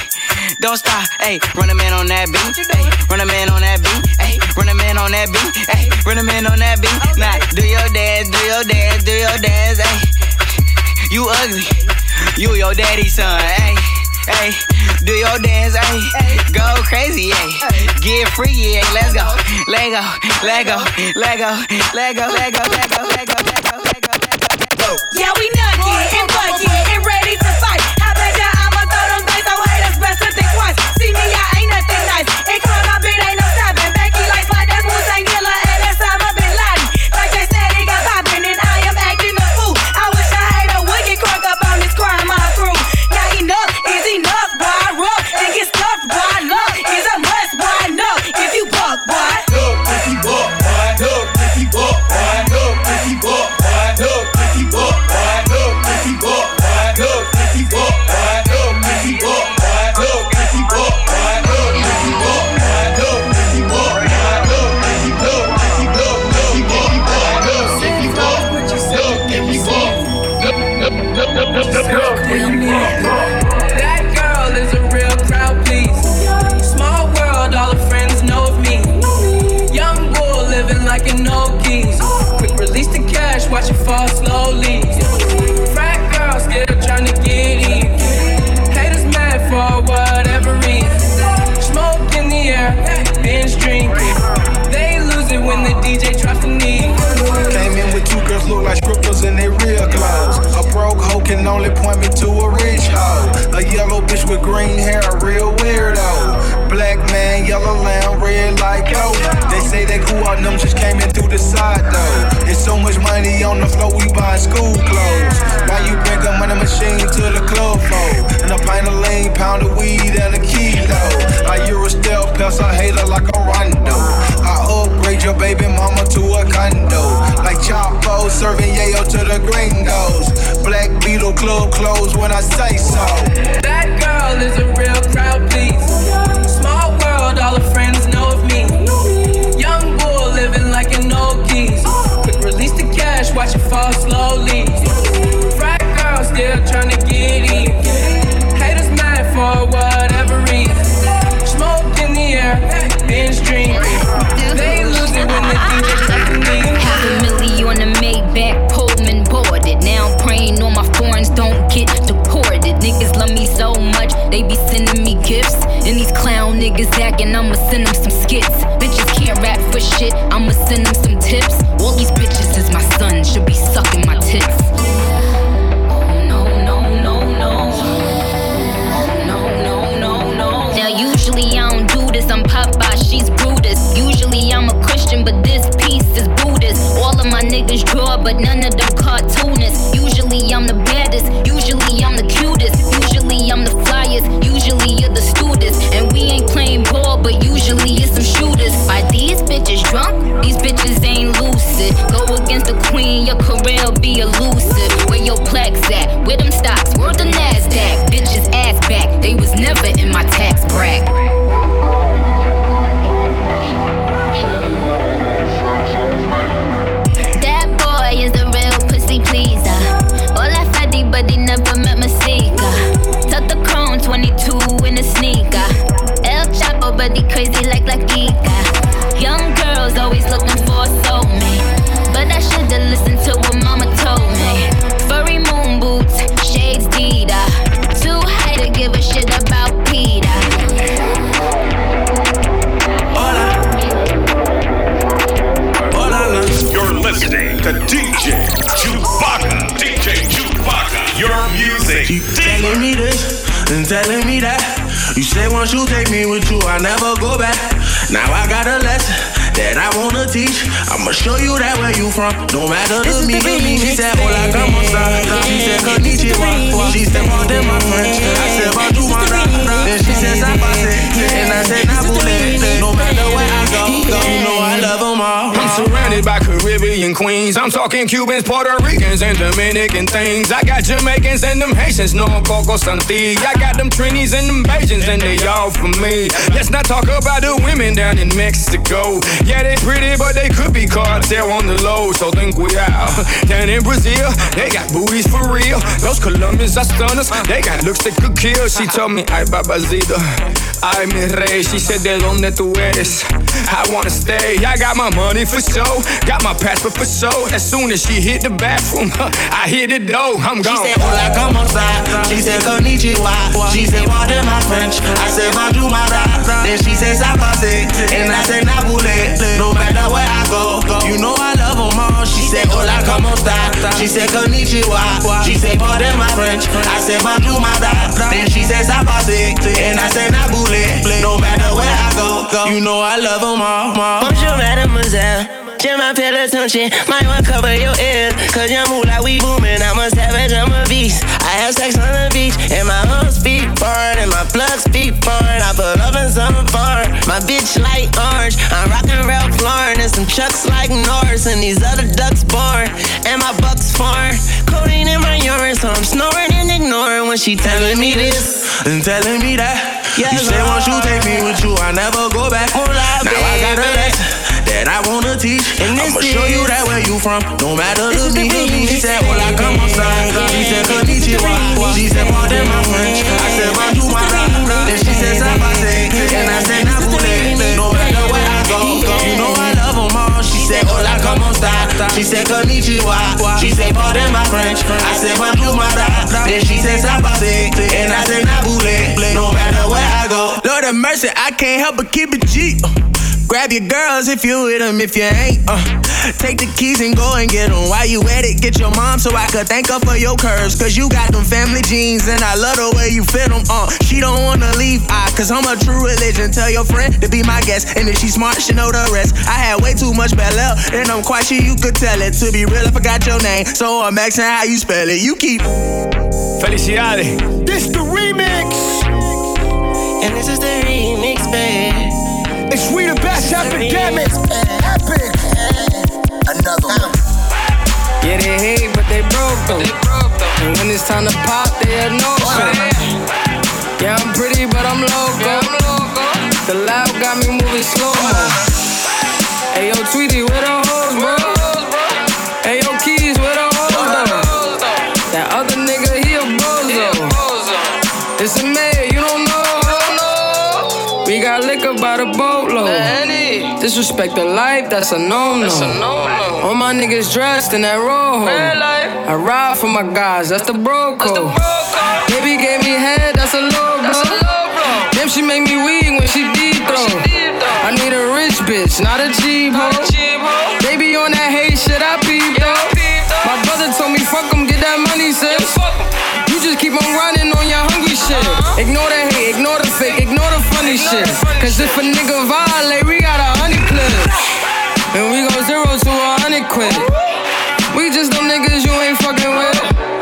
don't stop, ayy. Run a man on that beat, ayy. Run a man on that beat, ayy. Run a man on that beat, ayy. Run a man on that beat. Nah, do your dance, do your dance, do your dance, ayy. You ugly, you your daddy's son, ayy. Ayy, do your dance, ayy. Go crazy, ayy. Get freaky, ayy. Let's go, let go, let go, let go, let go, let go, let go, let go, let go, let go, let go. Yeah, we nugget and bucket and ready to fight. How bad ya? I'ma throw them dice. Oh, haters best to think twice. See me, I ain't nothing nice. And come on, bitch, ain't no stopping. Becky like my that's Wu-Tang Killer and that's Osama Bin Laden. Like they said, they got poppin' and I am acting a fool. I wish I had a would get crunk up on this crime my crew. Yeah, enough is enough, boy. Rough and get stuffed, boy. Love is a must, boy. No, if you buck, boy. Look, if you buck, boy. Look, if you buck, boy. Look, if you buck, boy. Look, if you buck, boy. Look, if you buck, boy. Look, if you buck, boy. Look, if you buck, boy. Look, if you buck, boy. Look, if you buck, boy. Look, if you buck, boy. Look, if you look, if you look, if you buck, boy. Look, if you buck, look, if you buck. That girl is a real crowd, please. Small world, all her friends know of me. Young bull living like an old keys. Quick release the cash, watch it fall slowly. Frat girl still trying to get in. Haters mad for whatever reason. Smoke in the air, binge drinking. They lose it when the D J drops the knee. Came in with two girls look like strippers in their real clothes. A broke hoe can only point me to a rich hoe. A yellow bitch with green hair, a real weirdo. Black man, yellow lamb, red like yo. They say they cool on them, just came in through the side though. There's so much money on the floor, we buying school clothes. Why you bring a money machine to the club for? And a pint of lean, pound of weed, and a kilo. I Euro stealth, plus I hate her like a rondo. I upgrade your baby mama to a condo. Like Chapo, serving yayo to the gringos. Black Beetle club closed when I say so. That girl is a real crowd, please. Small world, all her friends know of me. Young bull living like an old keys. Quick release the cash, watch it fall slowly. Frat girl still trying to get in. Haters mad for whatever reason. Smoke in the air, binge drinking. They lose it when the D J drops the knee. Half a million on the Maybach, Pullman boarded. Now I'm praying all my foreigns don't get deported. Niggas love me so much, they be sending me gifts. And these clown niggas acting, I'ma send them some skits. Bitches can't rap for shit, I'ma send them some tips. All these bitches is my sons, should be sucking my tits. Oh no, no, no, no. No, no, no, no. Now usually I don't do this, I'm Popeye, she's Brutus. Usually I'm a Christian, but this piece is Buddhist. All of my niggas draw, but none of them cartoonists. Usually I'm the baddest, usually I'm the cutest. Usually I'm the flyest, usually you're the students. And we ain't playing ball, but usually it's some shooters. Are these bitches drunk? These bitches ain't lucid. Go against the queen, your career'll be elusive. Where your plaques at? Where them stocks? Where the NASDAQ? Bitches ass back, they was never in my tax bracket. That boy is a real pussy pleaser. All that fatty, but he never met Masika. Tuck the chrome twenty-two in a sneaker. El Chapo, but he crazy like La Kika. Young girls always looking for a soulmate, but I should've listened to what mama told me. Furry moon boots, shades Dita. Too high to give a shit about Peter. You're listening to D J Chewbacca. D J Chewbacca. Your music. You telling me this and telling me that. You say once you take me with you, I never go back. Now I got a lesson that I wanna teach. I'ma show you that where you from. No matter to me. She said, hola, como esta? She said, konnichiwa. She said, more than my friends. I said, but you want that? Then she said, zapase. And I said, nabule. No matter where I go, go, you know I love 'em them all. I'm surrounded by Caribbean queens. I'm talking Cubans, Puerto Ricans, and Dominican things. I got Jamaicans and them Haitians, no Coco Santi. I got them Trinis and them Bajans, and they all for me. Let's not talk about the women down in Mexico. Yeah, they pretty, but they could be cartel on the low, so think we out. Down in Brazil, they got booties for real. Those Colombians are stunners, they got looks that could kill. She told me, ay babacito, ay mi rey. She said, de donde tú eres, I wanna stay. I got my money for show, got my passport for show. As soon as she hit the bathroom, I hit the door, I'm gone. She said, hola, como esta? She said, konnichiwa. She said, pardon my French. I said, bonjour, my rap. Then she said, ça passe. And I said, nabule. No matter where I go, you know I love them all. She said, hola, como esta? She said, konnichiwa. She said, pardon my French. I said, bonjour, my rap. Then she said, ça passe. And I said, nabule. No matter where I go, you know I love them all. Bonjour, mademoiselle. Je m'appelle attention, might want cover your ears. Cause you move like we booming. I'm a savage, I'm a beast. I have sex on the beach, and my hoes speak foreign, and my plugs speak foreign. I put love in some foreign. My bitch like orange. I'm rockin' Ralph Lauren, and some chucks like Norris, and these other ducks born, and my bucks foreign. Codeine in my urine, so I'm snoring and ignoring when she telling me this and telling me that. Yeah, you say once you take me with you, I never go back. Hola, now baby. I got a lesson that I wanna teach. I'ma show you that where you from, no matter the me. She said, hola, como esta? She said, konnichiwa. She said, pardon my French. I said, bonjour, my rap. Then she said, ça passe. And I said, nabule. No matter where I go, you know I love them all. She said, hola, como esta? She said, konnichiwa. She said, pardon my French. I said, bonjour, my rap. Then she said, ça passe. And I said, nabule. No matter where I go. Lord have mercy, I can't help but keep it G. Uh. Grab your girls if you with them, if you ain't, uh take the keys and go and get them. While you at it, get your mom so I could thank her for your curves. Cause you got them family jeans and I love the way you fit them, uh She don't wanna leave, I, cause I'm a true religion. Tell your friend to be my guest, and if she smart, she know the rest. I had way too much Bel Air, and I'm quite sure you could tell it. To be real, I forgot your name, so I'm asking how you spell it. You keep Felicidades. This the remix. And this is the remix, babe. It's we the best epidemic. Epic. Another one. Yeah, they hate, but they broke though. And when it's time to pop, they had no show. Yeah, I'm pretty, but I'm loco. The loud got me moving slow mo. Hey, yo, Tweety, where the hoes, bro? Hey, yo, Keys, where the hoes, though? That other nigga, he a bozo. It's a mayor, you don't know. We got liquor by the boatload. Disrespect the life, that's a no-no. All my niggas dressed in that rojo. I ride for my guys, that's the bro code. Baby gave me head, that's a low blow. Damn, she make me weak when she deep throw. I need a rich bitch, not a cheap hoe. Baby on that hate shit, I peep though. My brother told me fuck him, get that money, sis. You just keep on running on your hungry shit. Ignore the hate, ignore the fake, ignore the funny shit. Cause if a nigga violate, we got a honey clip. And we go zero to a hundred quid. We just them niggas you ain't fucking with.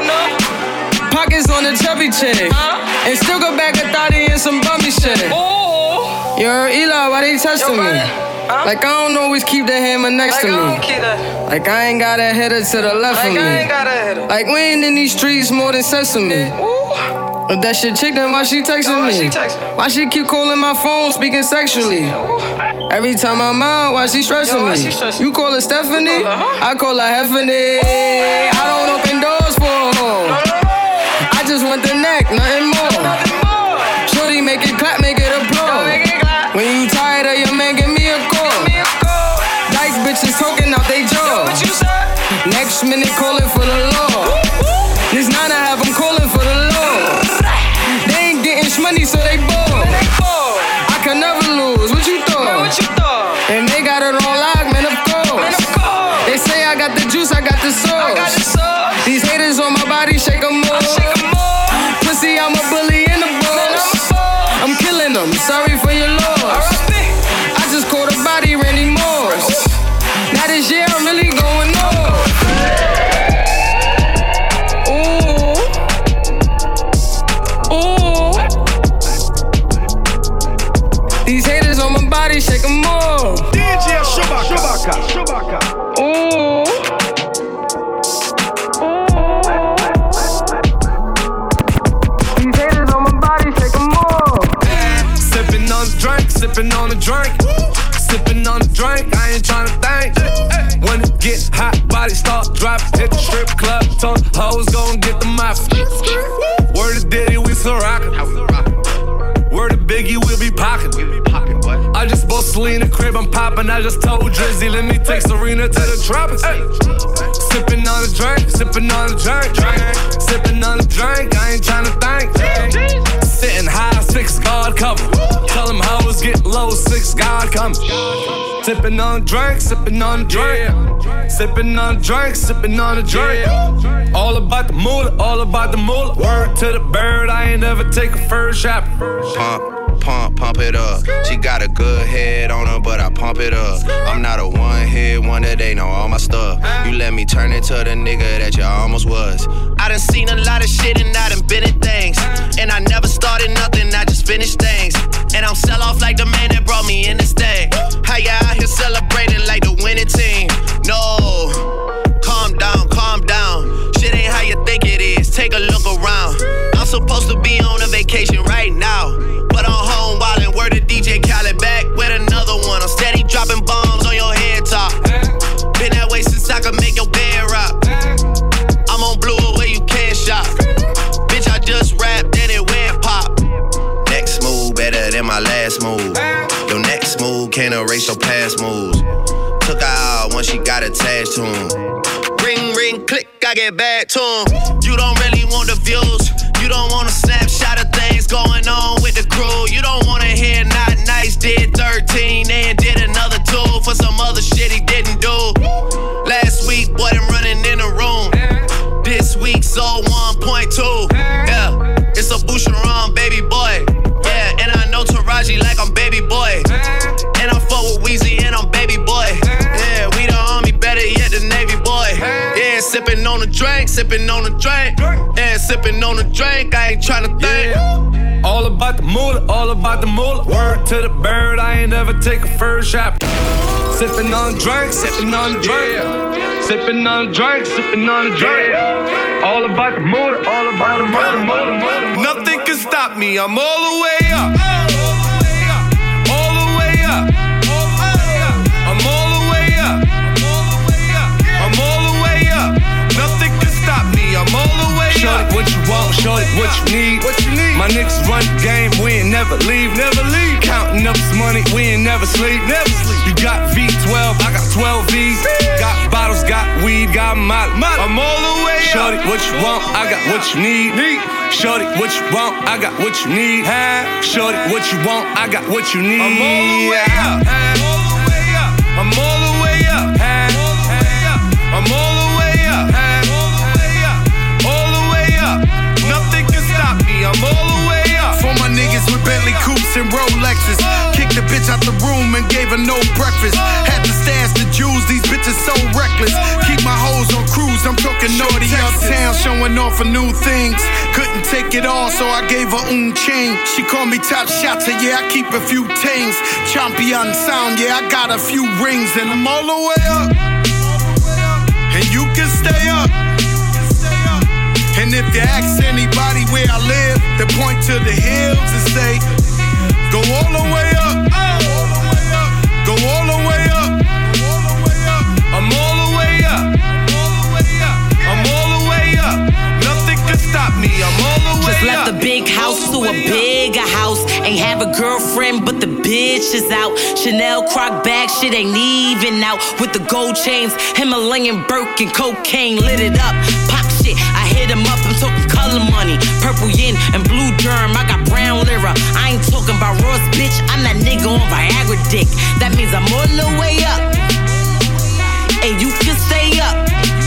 Pockets on the chubby chick. And still go back a thotty and some bummy shit. Yo, Eli, why they testing me? Like I don't always keep the hammer next to me. Like I ain't got a header to the left of me. Like we ain't in these streets more than sesame. If that shit chick, then why she texting me? Why she keep calling my phone, speaking sexually? Every time I'm out, why she stressing me? You call her Stephanie, I call her Heffany. I don't open doors for a hoe. I just want the neck, nothing more. Shorty make it clap, make it applaud. When you tired of your man, give me a call. Dice bitches talking out they jaw. Next minute calling for the law. This nine I have them calling for the law. They ain't getting money, so they bored. I can never lose. What you thought? And they got it on lock, man, of course. They say I got the juice, I got the sauce. These haters on my body, shake them more. Pussy, I'm a bully in the boss. I'm killing them, sorry for your loss. I just caught a body, Randy Moss. Now this year I'm really going off. These haters on my body, shake them off. D J Chewbacca. sipping on a drink. Sipping on a drink, I ain't tryna think. When it get hot, body start dropping. Hit the strip club, told the hoes gon' get the mouth. Word to Diddy, we still rockin'. Word to Biggie, we'll be pocketin'. I just bought Selena crib, I'm poppin'. I just told Drizzy, let me take Serena to the tropics. Sippin' on a drink, sippin' on a drink, drink. Sippin' on a drink, I ain't tryna think. Sitting high, six guard cover. Tell them hoes get low, six guard coming. Sippin' on a drink, sippin' on a drink. Sippin' on a drink, sippin' on a drink. All about the moolah, all about the moolah. Word to the bird, I ain't ever take a first shot. Pump, pump, pump it up. She got a good head on her, but I pump it up. I'm not a one-hit wonder, they know all my stuff. You let me turn into the nigga that you almost was. I done seen a lot of shit and I done been in things. And I never started nothing, I just finished things. And I'm sell off like the man that brought me in this thing. How ya out here celebrating like the winning team? No, calm down, calm down. Shit ain't how you think it is, take a look around. I'm supposed to be on a vacation right now, but I'm home wildin', word to D J Khaled, back with another one. I'm steady dropping bombs on your head top. Been that way since I could make your bed rock. I'm on blue where you can't shop. Bitch, I just rapped and it went pop. Next move better than my last move. Your next move can't erase your past moves. Took her out when she got attached to him. Ring, ring, click, I get back to him. You don't really want the views. You don't want a snapshot of things going on with the crew. You don't wanna hear not nice did thirteen and did another two for some other shit he didn't do. Last week, boy, I'm running in the room. This week, so one point two. Yeah, it's a Boucheron, baby boy. Yeah, and I know Taraji like I'm baby boy. And I fuck with Weezy and I'm baby boy. Yeah, we the army, better yet the Navy boy. Yeah, sippin' on a drink, sippin' on a drink. Yeah, sippin' on a drink, I ain't tryna think. Yeah. All about the moolah, all about the moolah. Word to the bird, I ain't ever take a first shot. Sippin' on a drink, sippin' on a drink. Sippin' on a drink, sippin' on a drink. All about the moolah, all about the moolah. Nothing can stop me, I'm all the way up. All the way up. I'm all the way up. I'm all the way up. Nothing can stop me, I'm all the way up. Shorty, what you want, shorty, what you need. What you need? My niggas run the game, we ain't never leave. Never leave. Counting up this money, we ain't never sleep. Never sleep. You got V twelve, I got twelve V's. Got bottles, got weed, got molly. I'm all the way up. Shorty, what you want, I got what you need. need. Shorty, what you want, I got what you need. Shorty, what you want, I got what you need. I'm all the way up. All the way up. I'm all the way up. All the way up. I'm all the way up. All the way up. All the way up. Nothing can stop me. I'm all the way up. For my niggas with Bentley coupes and Rolexes, kicked the bitch out the room and gave her no breakfast. Had to stash the jewels, these bitches so reckless. Keep my hoes on cruise, I'm talking naughty uptown, showing off for new things. Couldn't take it all, so I gave her un chain. She called me top shotter, yeah, I keep a few things. Champion sound, yeah, I got a few rings, and I'm all the way up. And you can stay up. And if you ask anybody where I live, they point to the hills and say, go all the way up. Go all the way up. I'm all the way up. I'm all the way up. Nothing can stop me. I'm all the way up. Just left the big house to a bigger house. Ain't have a girlfriend, but the bitch is out. Chanel croc bag, shit ain't even out. With the gold chains, Himalayan Birkin, cocaine lit it up. Pop shit, I hit him up, I'm talking color money. Purple yin and blue derm, I got brown lira. I ain't talking about Ross, bitch, I'm that nigga on Viagra dick. That means I'm all the way up. And you can stay up.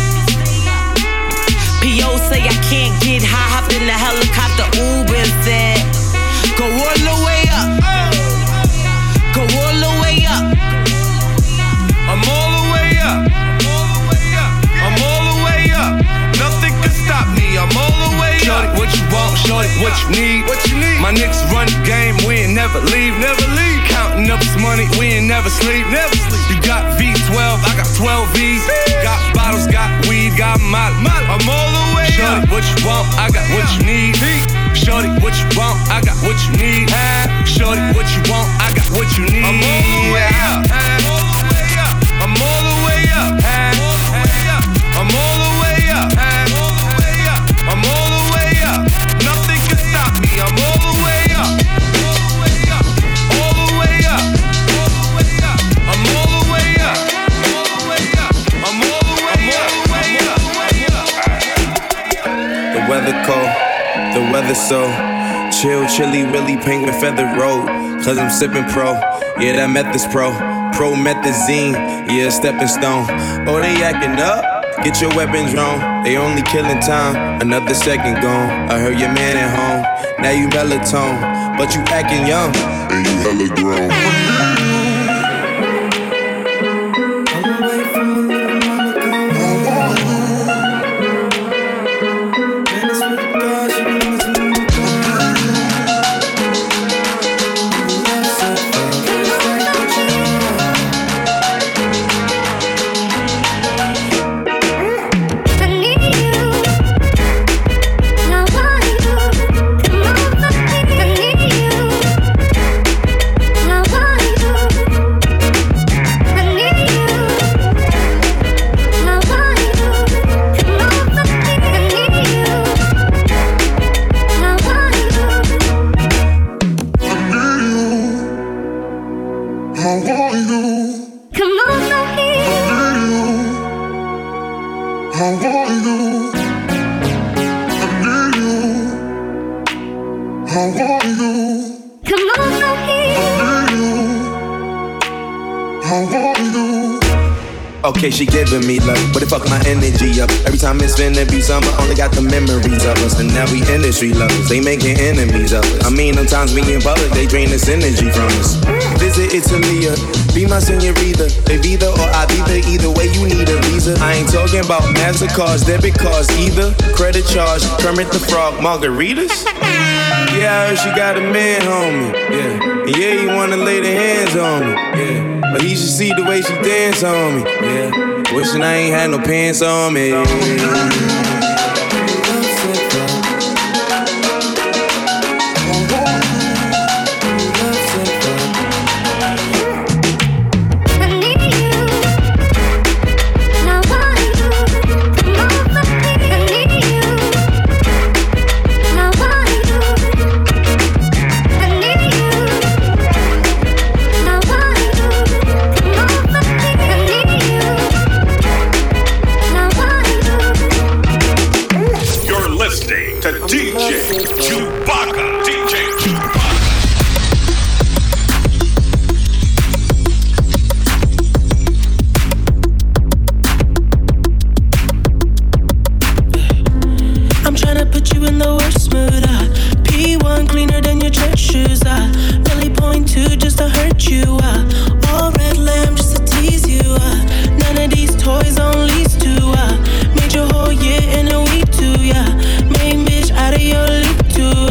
P O say I can't get high, hop in the helicopter, Uber instead. Go all the way up. Go all the way up. I'm all the way up. I'm all the way up. Nothing can stop me. I'm all the way up. Shorty, what you want, shorty, what you need. What you need? My niggas run the game, we ain't never leave. Never leave. Counting up this money, we ain't never sleep. Never sleep. You got V twelve, I got twelve V's. Got bottles, got weed, got molly. I'm all the way Shorty, up. what you want, I got what you need. Shorty, what you want, I got what you need. Shorty, what you want, I got what you weather cold, the weather so chill, chilly, really penguin feather road. Cause I'm sipping pro, yeah, that meth is pro. Promethazine, yeah, stepping stone. Oh, they acting up, get your weapons wrong. They only killing time, another second gone. I heard your man at home, now you melatonin, but you acting young, and you hella grown. Okay, she giving me love, but it fuck my energy up. Every time it's finna be summer, only got the memories of us. And now we industry lovers, they making enemies of us. I mean, sometimes we in public, they drain this energy from us. Visit Italia, be my senorita. They either or I be there, either way you need a visa. I ain't talking about MasterCards, debit cards either. Credit charge, Kermit the Frog, margaritas. Yeah, I heard she got a man, homie. Yeah, and yeah, he wanna lay the hands on me. Yeah, but he should see the way she dance on me. Yeah, wishing I ain't had no pants on me. Made your whole year in a week too, yeah. Main bitch out of your league too.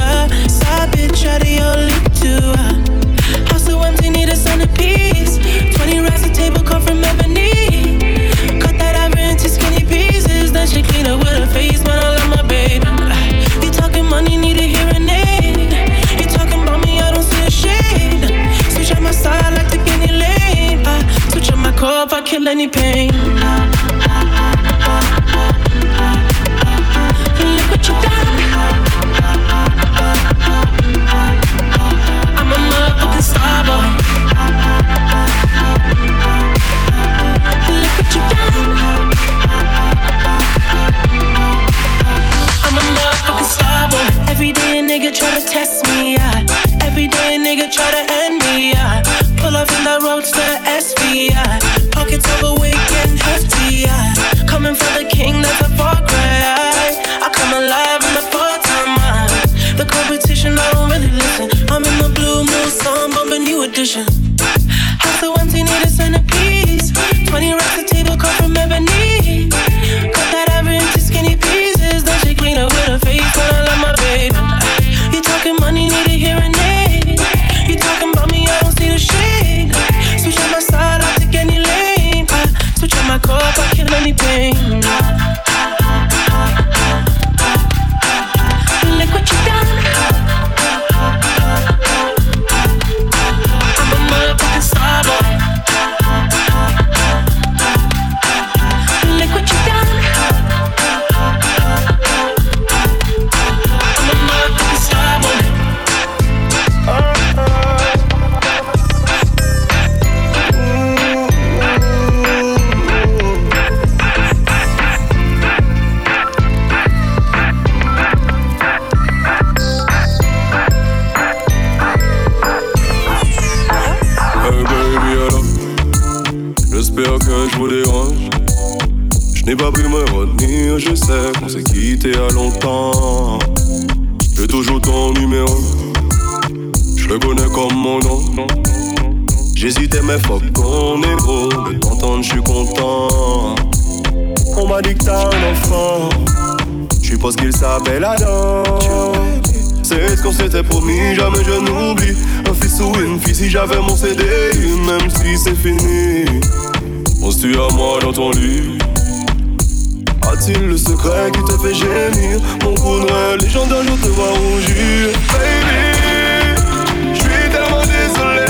n'ai pas pu me retenir, je sais qu'on s'est quitté à longtemps. J'ai toujours ton numéro, je le connais comme mon nom. J'hésitais mais fuck qu'on est gros, de t'entendre je suis content. On m'a dit que t'as un enfant, je suppose qu'il s'appelle Adam. C'est ce qu'on s'était promis, jamais je n'oublie. Un fils ou une fille si j'avais mon C D, même si c'est fini. Penses-tu à moi dans ton lit? A-t-il le secret qui te fait gémir? Mon coup de rêve légendaire, je te vois rougir. Baby, je suis tellement désolé.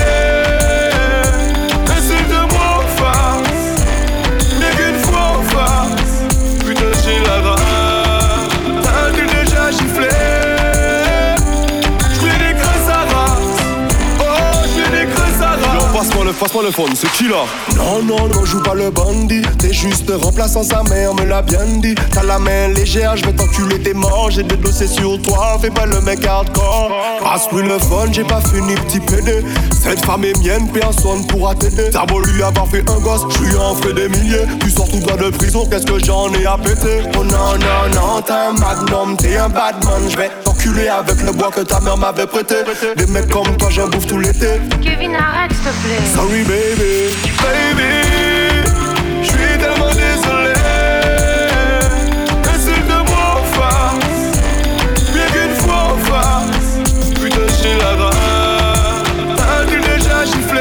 Insulte-moi en face, mais qu'une fois en face. Putain j'ai la rage, t'as-tu déjà giflé? Passe-moi le, passe-moi le phone, c'est qui là? Non, non, non, joue pas le bandit. T'es juste remplaçant, sa mère me l'a bien dit. T'as la main légère, je vais t'enculer, t'es mort. J'ai des dossiers sur toi, fais pas le mec hardcore. Passe-lui le phone, j'ai pas fini, petit pédé. Cette femme est mienne, personne pourra t'aider. T'as beau lui avoir fait un gosse, je lui en ferai des milliers. Tu sors tout droit de prison, qu'est-ce que j'en ai à péter? Oh non, non, non, t'es un magnum, t'es un badman. Je vais t'enculer avec le bois que ta mère m'avait prêté. Des mecs comme toi, j'en bouffe tout l'été. Kevin, arrête s'il te plaît. Sorry baby, baby, je suis tellement désolé. Insulte-moi en face, bien qu'une fois en face. Putain j'ai la rage, t'as-tu déjà giflé?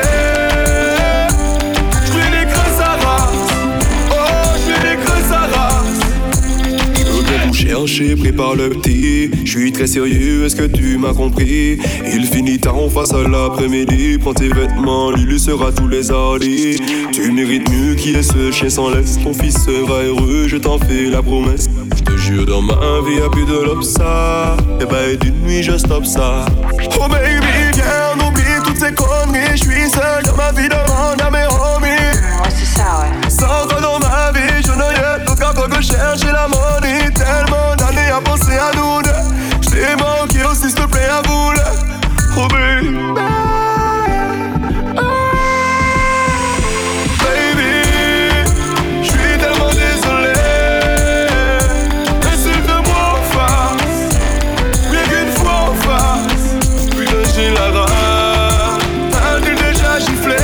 J'vais des creux sa race, oh j'vais des creux sa race. Je veux bien tout chercher, prépare le petit. Je suis très sérieux, est-ce que tu m'as compris? Il finit tard, on face à l'après-midi. Prends tes vêtements, lui lui sera tous les hardis. Tu mérites mieux qui est ce chien sans laisse. Ton fils sera heureux, je t'en fais la promesse. Je te jure, dans ma vie y'a plus de l'obsa. Et bah et d'une nuit je stoppe ça. Oh baby, viens, on oublie toutes ces conneries. Je suis seul dans ma vie, demande à mes homies. Ouais c'est ça ouais. Sans toi dans ma vie, je n'aurais d'autre qu'à toi que chercher la money. Tellement d'années à penser à nous deux. J't'ai manqué aussi, s'il te plaît, à vous là. Oh baby, baby, j'suis tellement désolé. Insulte-moi en face, bien qu'une fois en face. Putain j'ai la rage, t'as-tu déjà giflé?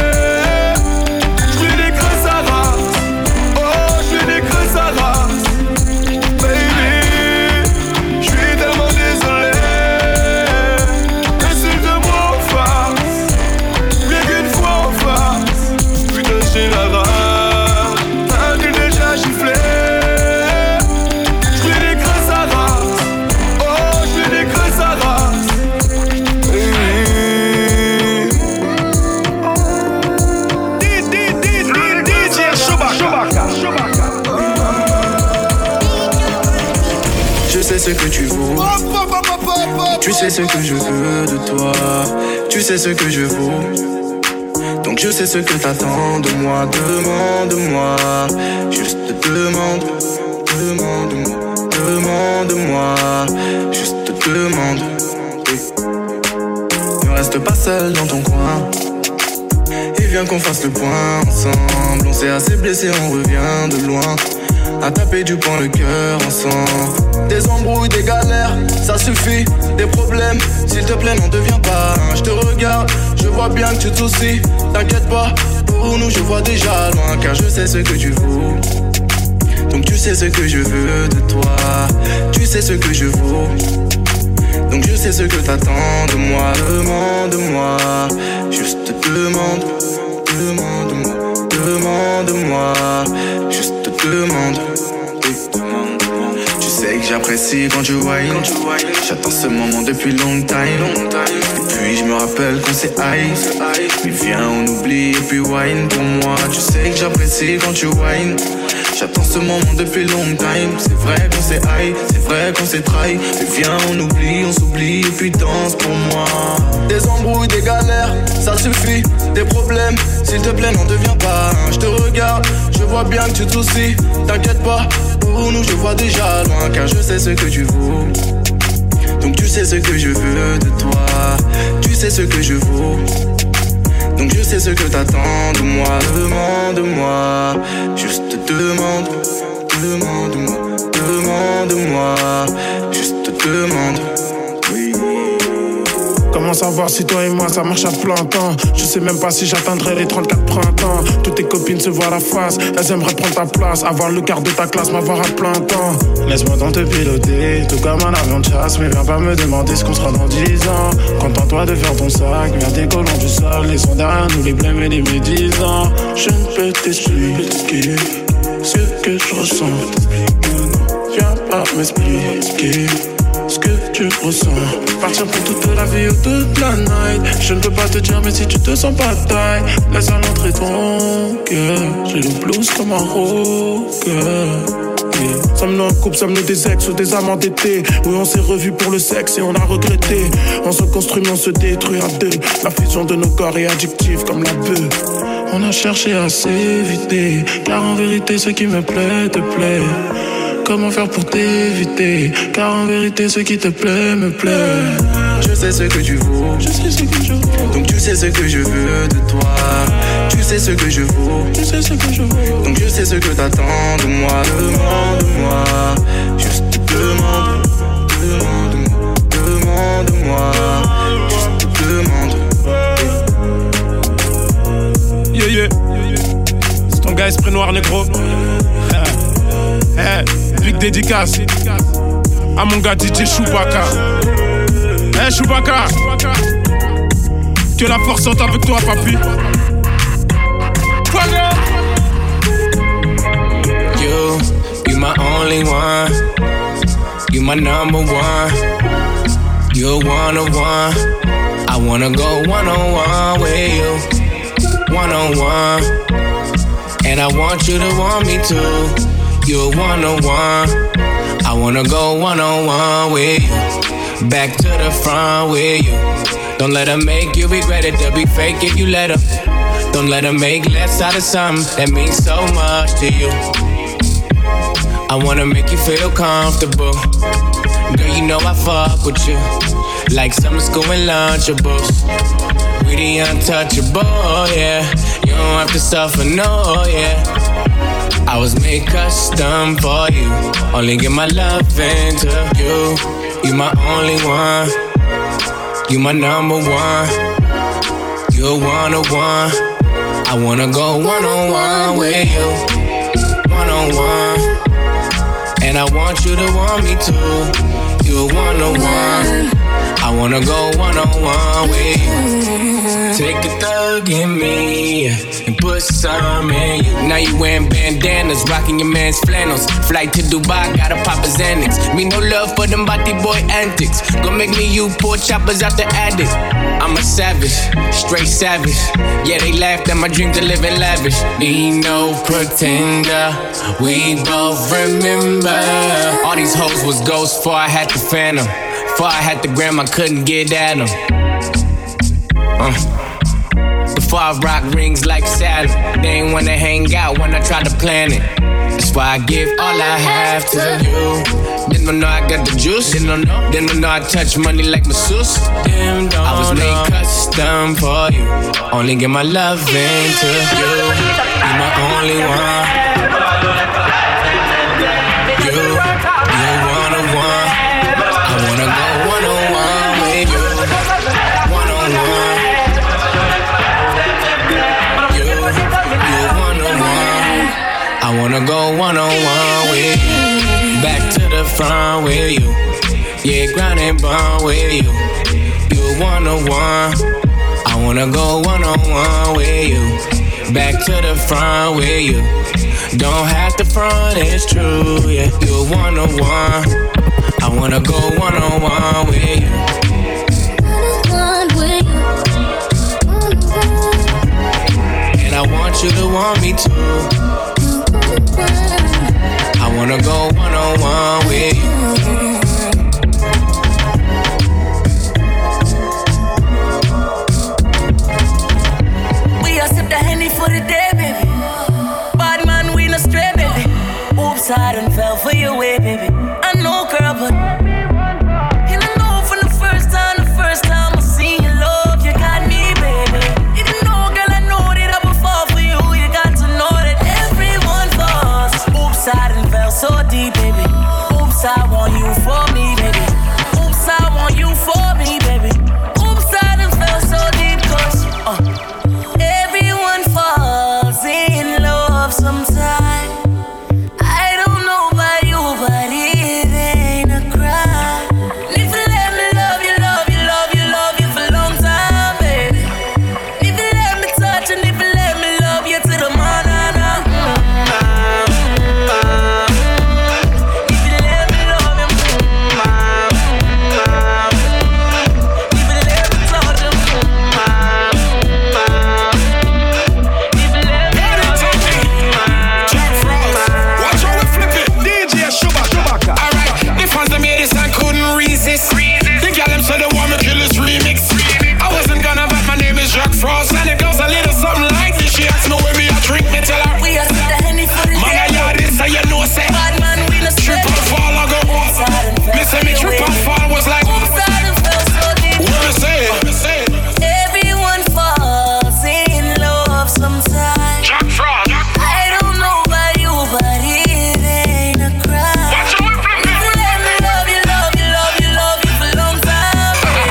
J'fais des creux sa race, oh j'fais des creux sa race. Baby, j'suis tellement désolé. Tu sais ce que tu vaux. Tu sais ce que je veux de toi. Tu sais ce que je vaux. Donc je sais ce que t'attends de moi. Demande-moi, juste demande. Demande-moi, demande-moi, juste demande. Ne reste pas seul dans ton coin. Et viens qu'on fasse le point ensemble. On s'est assez blessé, on revient de loin. À taper du poing le cœur ensemble. Des embrouilles, des galères, ça suffit. Des problèmes, s'il te plaît n'en deviens pas un. Je te regarde, je vois bien que tu te soucies. T'inquiète pas, pour nous je vois déjà loin. Car je sais ce que tu vaux. Donc tu sais ce que je veux de toi. Tu sais ce que je vaux. Donc je sais ce que t'attends de moi. Demande-moi, juste demande. Demande-moi, demande-moi, juste demande. Tu sais que j'apprécie quand tu whine. J'attends ce moment depuis long time. Et puis je me rappelle qu'on s'est high. Mais viens on oublie et puis wine pour moi. Tu sais que j'apprécie quand tu whine. J'attends ce moment depuis long time. C'est vrai qu'on s'est high, c'est vrai qu'on s'est trahi. Mais viens on oublie, on s'oublie et puis danse pour moi. Des embrouilles, des galères, ça suffit. Des problèmes, s'il te plaît n'en deviens pas un. Je te regarde, je vois bien que tu te soucies. T'inquiète pas, pour nous je vois déjà loin. Car je sais ce que tu vaux. Donc tu sais ce que je veux de toi. Tu sais ce que je vaux. Donc je sais ce que t'attends de moi. Demande-moi, juste demande. demande-moi, demande-moi, juste demande. Oui. Comment savoir si toi et moi ça marche à plein temps? Je sais même pas si j'atteindrai les trente-quatre printemps. Toutes tes copines se voient la face, elles aimeraient prendre ta place, avoir le quart de ta classe, m'avoir à plein temps. Laisse-moi donc te piloter, tout comme un avion de chasse. Mais viens pas me demander ce qu'on sera dans dix ans. Contente-toi de faire ton sac, viens décollant du sol. Laissons derrière nous les blêmes et les médisants. Je ne peux t'expliquer ce que je ressens. Viens pas m'expliquer ce que tu ressens. Partir pour toute la vie ou toute la night. Je ne peux pas te dire mais si tu te sens pas taille, laisse à l'entrée ton cœur. J'ai le blues comme un rocker. Yeah. Sommes-nous en couple, sommes-nous des ex ou des amants d'été? Oui, on s'est revus pour le sexe et on a regretté. On se construit mais on se détruit à deux. La fusion de nos corps est addictive comme la bœuf. On a cherché à s'éviter, car en vérité ce qui me plaît te plaît. Comment faire pour t'éviter? Car en vérité ce qui te plaît me plaît. Je sais ce que tu vaux, je sais ce que je vaux. Donc tu sais ce que je veux de toi. Tu sais ce que je vaux, tu sais ce que je vaux. Donc je sais ce que t'attends de moi. Demande-moi, juste demande, demande-moi, demande-moi, juste demande. Yeah yeah, c'est ton gars esprit noir négro. Eh, big dédicace à mon gars D J Chewbacca. Eh Chewbacca, que la force sorte avec toi papi. You, you my only one. You my number one. You're one on one. I wanna go one on one with you. One on one. And I want you to want me too. You're one on one. I wanna go one on one with you. Back to the front with you. Don't let her make you regret it. They'll be fake if you let her. Don't let her make less out of something that means so much to you. I wanna make you feel comfortable. Girl, you know I fuck with you like summer school and Lunchables. We the untouchable, yeah. You don't have to suffer, no, yeah. I was made custom for you. Only give my love into you. You my only one. You my number one. You're one on one. I wanna go one on one with you. One on one. And I want you to want me too. You're one on one. I wanna go one on one with you. Take a thug in me and put some in you. Now you wearing bandanas, rocking your man's flannels. Flight to Dubai, gotta pop a Xanax. Me no love for them body boy antics. Gon' make me you poor choppers out the attic. I'm a savage, straight savage. Yeah, they laughed at my dream to live in lavish. Be no pretender, we both remember. All these hoes was ghosts before I had the phantom. Before I had the gram, I couldn't get at them. Uh. Before I rock rings like Saturn, they ain't wanna hang out when I try to plan it. That's why I give all I have to you. Didn't know I got the juice. Didn't know, didn't know I touch money like masseuse. I was made custom for you. Only give my love into you. You my only one. You, you one on one. I wanna go one on one with you. One on one. You, you one on one. I wanna go one on one with you. Back to the front with you. Yeah, grind and bond with you. You one on one. I wanna go one on one with you. Back to the front with you. Don't have to front, it's true, yeah. You're one on one. I wanna go one on one with you. And I want you to want me too. I wanna go one on one with you. We are sip the Henny for the day, baby. Bad man, we no stray, baby. Oops, I done fell for your way, baby. I know, girl, but you don't know from the first time, the first time I seen your love, you got me, baby. You didn't know, girl, I know that I would fall for you. You got to know that everyone falls. Oops, I done fell fell so deep, baby. Oops, I want you for me, baby. Oops, I want you for me, baby. Oops, I done fell so deep, cause uh, everyone falls in love sometime. I don't know about you, but it ain't a crime. If you let me love you, love you, love you, love you for a long time, baby. If you let me touch and if you let me love you to the morning. Frost and it goes a little something like this. She asked me when me a drink, me tell her we are the Henny for the man, I yard this, so you know say bad man, we no trip and fall, I go me say me trip and fall was like oops, I done fell so deep. What me say? Everyone falls in love sometimes. Jack Frost. I don't know about you, but it ain't a crime. Watch out, if you let me love you, love you, love you, love you for a long time.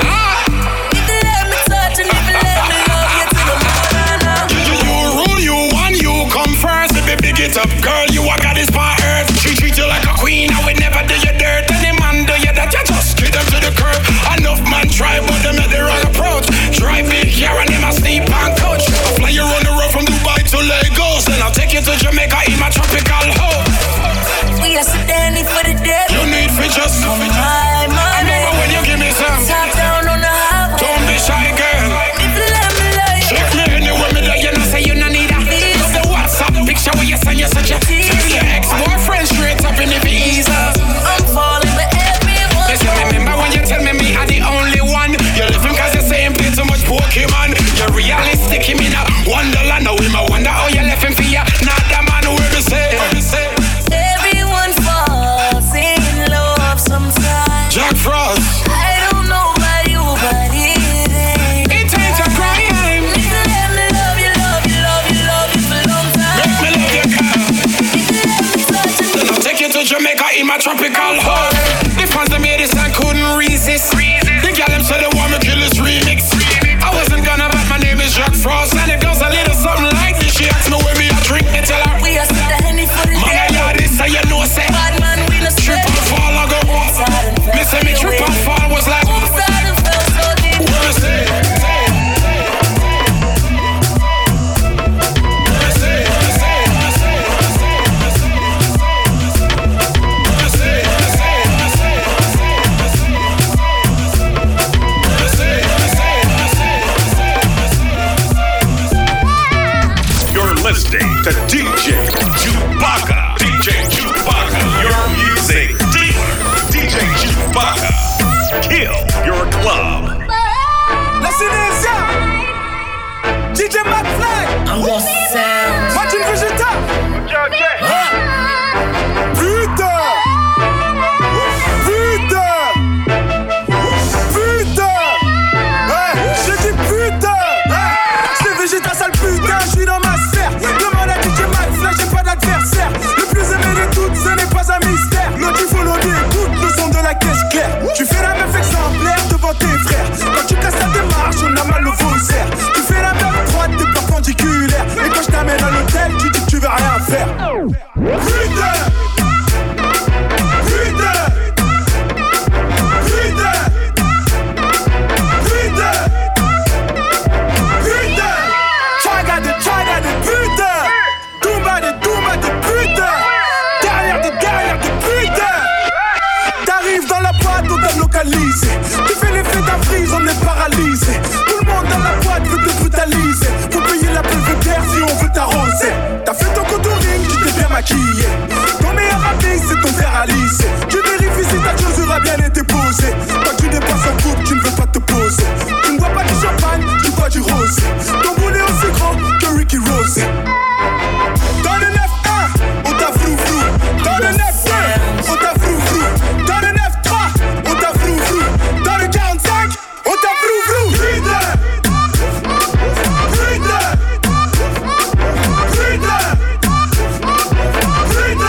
If you let me touch and if you let me love you to the morning. You, you rule, you won, you come first. Baby, big it up, girl, you a goddess on earth. She treat you like a queen, I would never do you dirt. Any man do you that, you just get them to the curb. Enough man try, but them at the wrong approach. Drive big here and them a sleep on coach. I fly you on the road from Dubai to Lagos, then I'll take you to Jamaica in my tropical home. We are standing for the dead. You need for just oh my, my I remember when you give me some. Top down on the highway. Don't be shy, girl. If you let me love you, check me anywhere me there, you know say you no need a. Love the WhatsApp picture where you send you such a tease. Your ex-boyfriend straight up in the visa. I'm falling for everyone. Listen, remember when you tell me me are the only one. You left him cause you say him play too much Pokemon. You're realistic, him in a wonderland. Now him a wonder how you left him for ya. Not the man who will say. Everyone falls in love sometimes. Jack Frost. I don't know about you, but it ain't. It ain't a crime. If you let me love you, love you, love you, love you for a long time. Make me love you, girl. If you let me touch and then I'll take you to Jamaica in my tropical home. The fans that made this and couldn't resist. The girl them said they want me kill this remix. I wasn't gonna, but my name is Jack Frost and it goes a little something like this. She asked me when me a drink, me tell her we are the Henny for the man, I yard this, so you know say bad man, we no trip and fall, I go me say me trip and fall was like oops, I done fell so deep. What me say? Listening to D J Chewbacca. D J Chewbacca, your music dealer. D J Chewbacca, kill your club. Listen this, yeah. D J McFly. I'm gonna sound. Martin Vegeta. Putain. Putain. Putain. Ouais, j'ai dit putain. C'est Vegeta, sale putain. Je suis dans ma sphère. Demande à D J McFly, j'ai pas d'adversaire. Le plus aimé de toutes, ce n'est pas un mystère. L'autre il faut l'audio, écoute le son de la caisse claire. Tu fais la meuf exemplaire devant tes frères. Quand tu casses ta démarche, on a mal au faussaire. Tu fais la meuf droite, t'es perpendiculaire. Et quand je t'amène à l'hôtel, tu dis que tu vas rien faire. Putain. Putain. Putain. Putain. Putain. Try de try de putain. Doomba de doomba de putain. Derrière de derrière de putain. T'arrives dans la boîte, on t'a localisé. Tu fais l'effet d'un freeze, on est paralysé. Tout le monde dans la boîte veut te brutaliser. Faut payer la belvédère si on veut t'arroser. T'as fait ton contouring, tu t'es bien maquillé. Ton meilleur ami, c'est ton fer à lisser. Tu vérifies si ta chaussure a bien été posée. Quand tu dépasses un couple, tu ne veux pas te poser. Tu ne bois pas du champagne, tu bois du rosé. Ton boulet aussi grand que Ricky Rose. Dans le neuf un, on t'a frou frou. Dans le neuf deux, on t'a frou frou. Dans le neuf trois, on t'a frou frou. Dans le quarante-cinq, on t'a frou frou. Putain. Putain. Putain. Putain.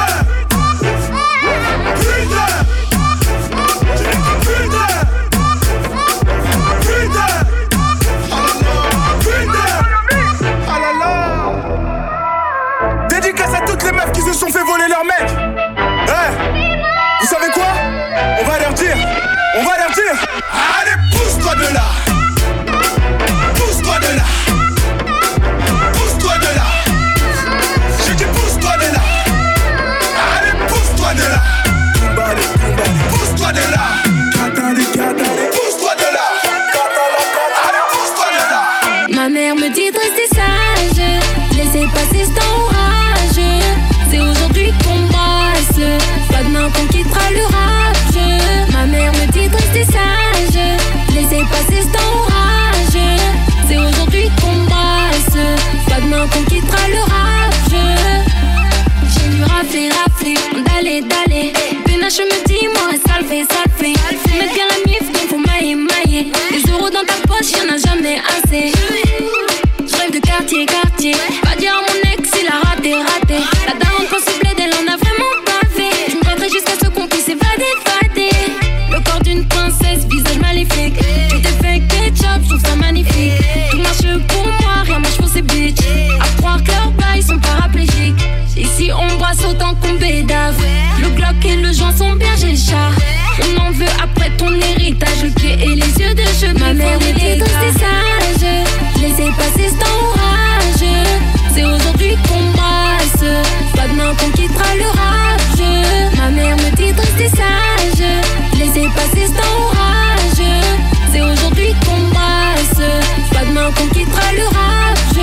je me dis, moi, ça le fait, ça le fait. Faut mettre bien la mif, donc faut mailler, mailler. Des euros dans ta poche, y'en a jamais assez. Je rêve de quartier, quartier. Pas dire à mon ex, il a raté, raté. La daronne quand se plaît, elle en a vraiment pas fait. Je me battrai jusqu'à ce qu'on puisse évader, fader. Le corps d'une princesse, visage maléfique. Tu t'es fait ketchup, je trouve ça magnifique. Tout marche pour moi, rien marche pour ces bitches. À croire que leurs bails sont paraplégiques. Ici on brasse autant qu'on bédave. Le Glock et le joint sont bien j'ai le chat. On en veut après ton héritage. Le pied et les yeux de cheveux. Ma mère était triste et sage. Je les ai passés c'est orage. C'est aujourd'hui qu'on brasse. Pas demain qu'on quittera le rage. Ma mère me dit triste et sage. Je les ai passés c'est orage. C'est aujourd'hui qu'on brasse. Pas demain qu'on quittera le rage.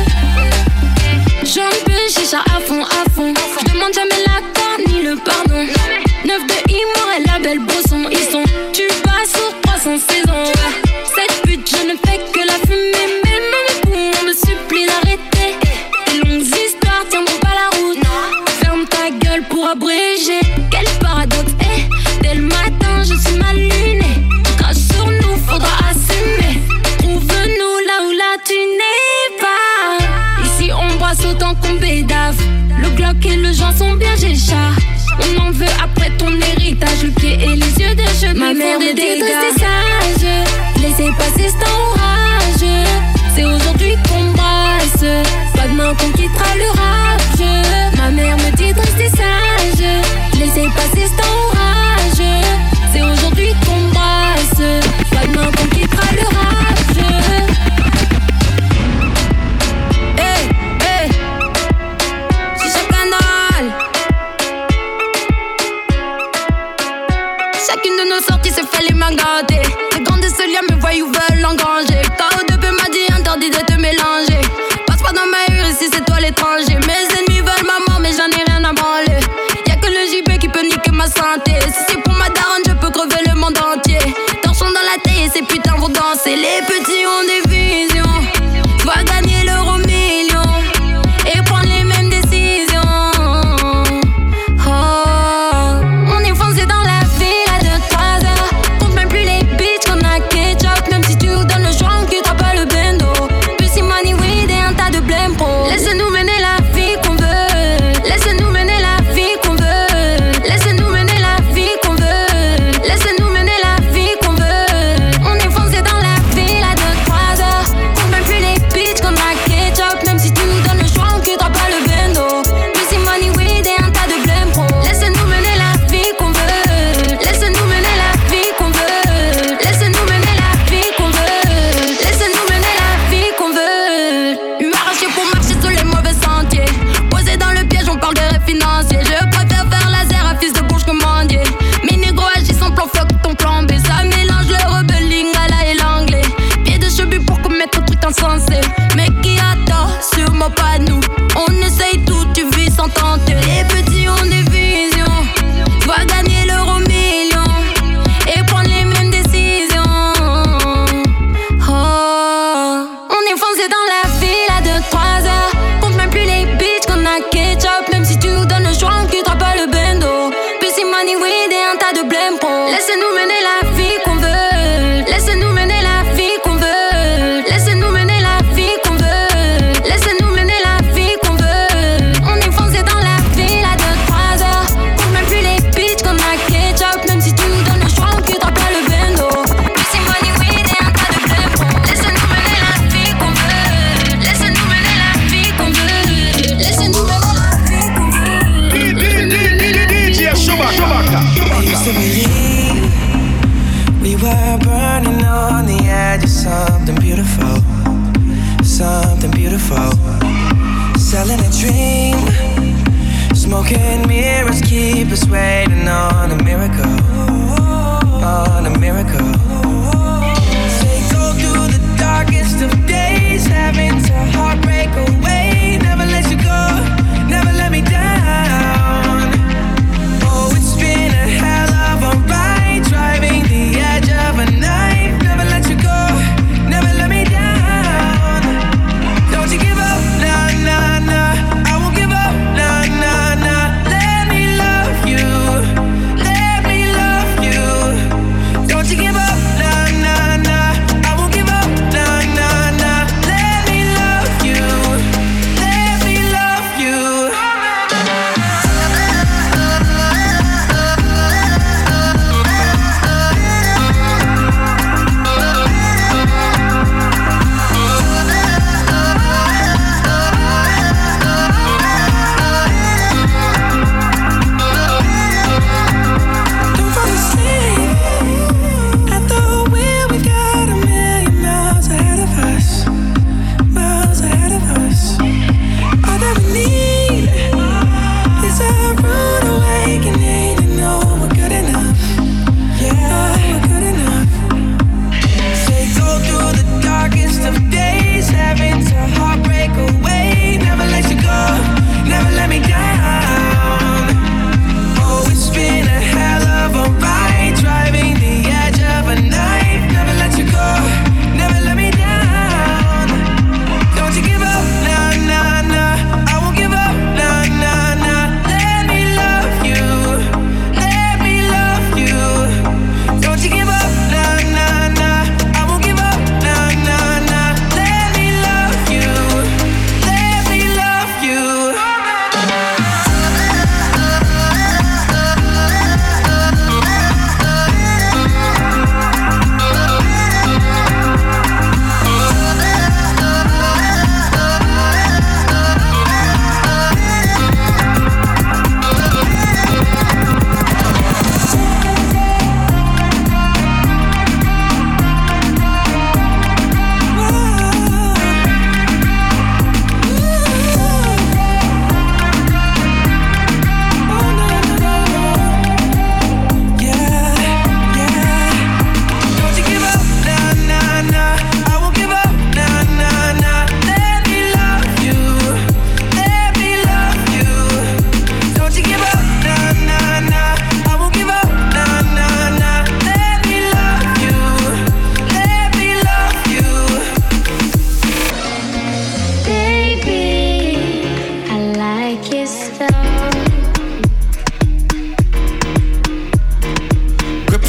J'en peux chicha à fond, à fond. Je demande jamais l'accord ni le pardon. Neuf de Imour et la belle Bosson. Ils sont tu bas sur trois cents saisons. Cette pute, je ne fais que la fumer. Mais mes poumons me supplient d'arrêter. Tes longues histoires tiendront pas la route. Ferme ta gueule pour abréger. Quel paradoxe, eh. Dès le matin, je suis mal lunée. Crache sur nous, faudra assumer. Trouve-nous là où là tu n'es pas. Ici on brasse autant qu'on bédave. Le Glock et le joint sont bien j'ai le chat. On en veut après ton héritage. Le pied et les yeux de cheveux. Ma mère me dit rester sage. Laissez passer c'est orage. C'est aujourd'hui qu'on brasse. Pas demain qu'on quittera le rage. Ma mère me dit rester sage. Laissez passer c'est orage. C'est aujourd'hui qu'on brasse. Pas demain qu'on quittera le rage. Hey, hey. Chicha Canal. Chacune de nos sorties se fait les mains gâtées. Les grands de ce lien me voient ou veulent engranger. K O deux P m'a dit interdit de te mélanger. Passe pas dans ma rue ici c'est toi l'étranger. Mes ennemis veulent ma mort mais j'en ai rien à branler. Y'a que le J B qui peut niquer ma santé. Si c'est pour ma daronne je peux crever le monde entier. Torchons dans la tête et ces putains vont danser. Les petits ont des visions. Va gagner l'euro million. Et prendre les mêmes décisions. Oh, on est foncé dans la ville à deux trois heures. Compte même plus les bitches qu'on a ketchup. Même si tu nous donnes le choix on quittera pas le bendo. Plus si money weed et un tas de blême pro. Laisse-nous mener la vie qu'on veut. Laisse-nous mener la vie qu'on veut. Laisse-nous mener la vie qu'on veut. Laisse-nous mener la vie qu'on veut. On est foncé dans la ville à deux trois heures. Compte même plus les bitches qu'on a ketchup. Même si tu nous donnes le choix on quittera pas le bendo. Plus si money weed et un tas de blême pro. Laisse-nous mener la vie qu'on veut. Laisse-nous mener la vie qu'on veut. Laisse-nous mener la vie qu'on veut. Laisse-nous mener la vie qu'on veut. Lui arraché pour marcher sur les mauvais sentiers. Posé dans le piège, on parle de rêve financier. Je préfère faire laser à fils de bouche commandier. Mes négros agissent en plan fuck ton plan B. Ça mélange le rebelle lingala et l'anglais. Pied de cheveux pour commettre truc insensé. Mais qui a tort, sûrement pas nous. On essaye tout, tu vis sans tenter. Les petits ont des visions. Va gagner l'euro million. Et prendre les mêmes décisions. Oh, on est foncé dans la ville à deux trois heures. Compte même plus les bitches qu'on a ketchup. Même si tu nous donnes le choix on quittera pas le bendo. Plus si money weed et un tas de blême pro. Laisse-nous mener la vie qu'on veut. Laisse-nous mener la vie qu'on veut. Laisse-nous mener la vie qu'on veut. Laisse-nous mener la vie qu'on veut. On est foncé dans la ville à deux trois heures. Compte même plus les bitches qu'on a ketchup. Même si tu nous donnes le choix on quittera pas le bendo. Plus si money weed et un tas de blême pro. Laisse-nous mener la vie qu'on veut. Laisse-nous mener la vie qu'on veut. Laisse-nous mener la vie qu'on veut. D J Chewbacca. I used to believe we were burning on the edge of something beautiful, something beautiful. Selling a dream, smoking mirrors keep us waiting on a miracle, on a miracle. They go through the darkest of days, having to heartbreak away. Never let you go, never let me down. Oh, it's been a hell of a ride, driving the edge of a knife. Never let you go, never let me down. Don't you give up, nah, nah, nah. I won't give up, nah, nah, nah. Let me love you.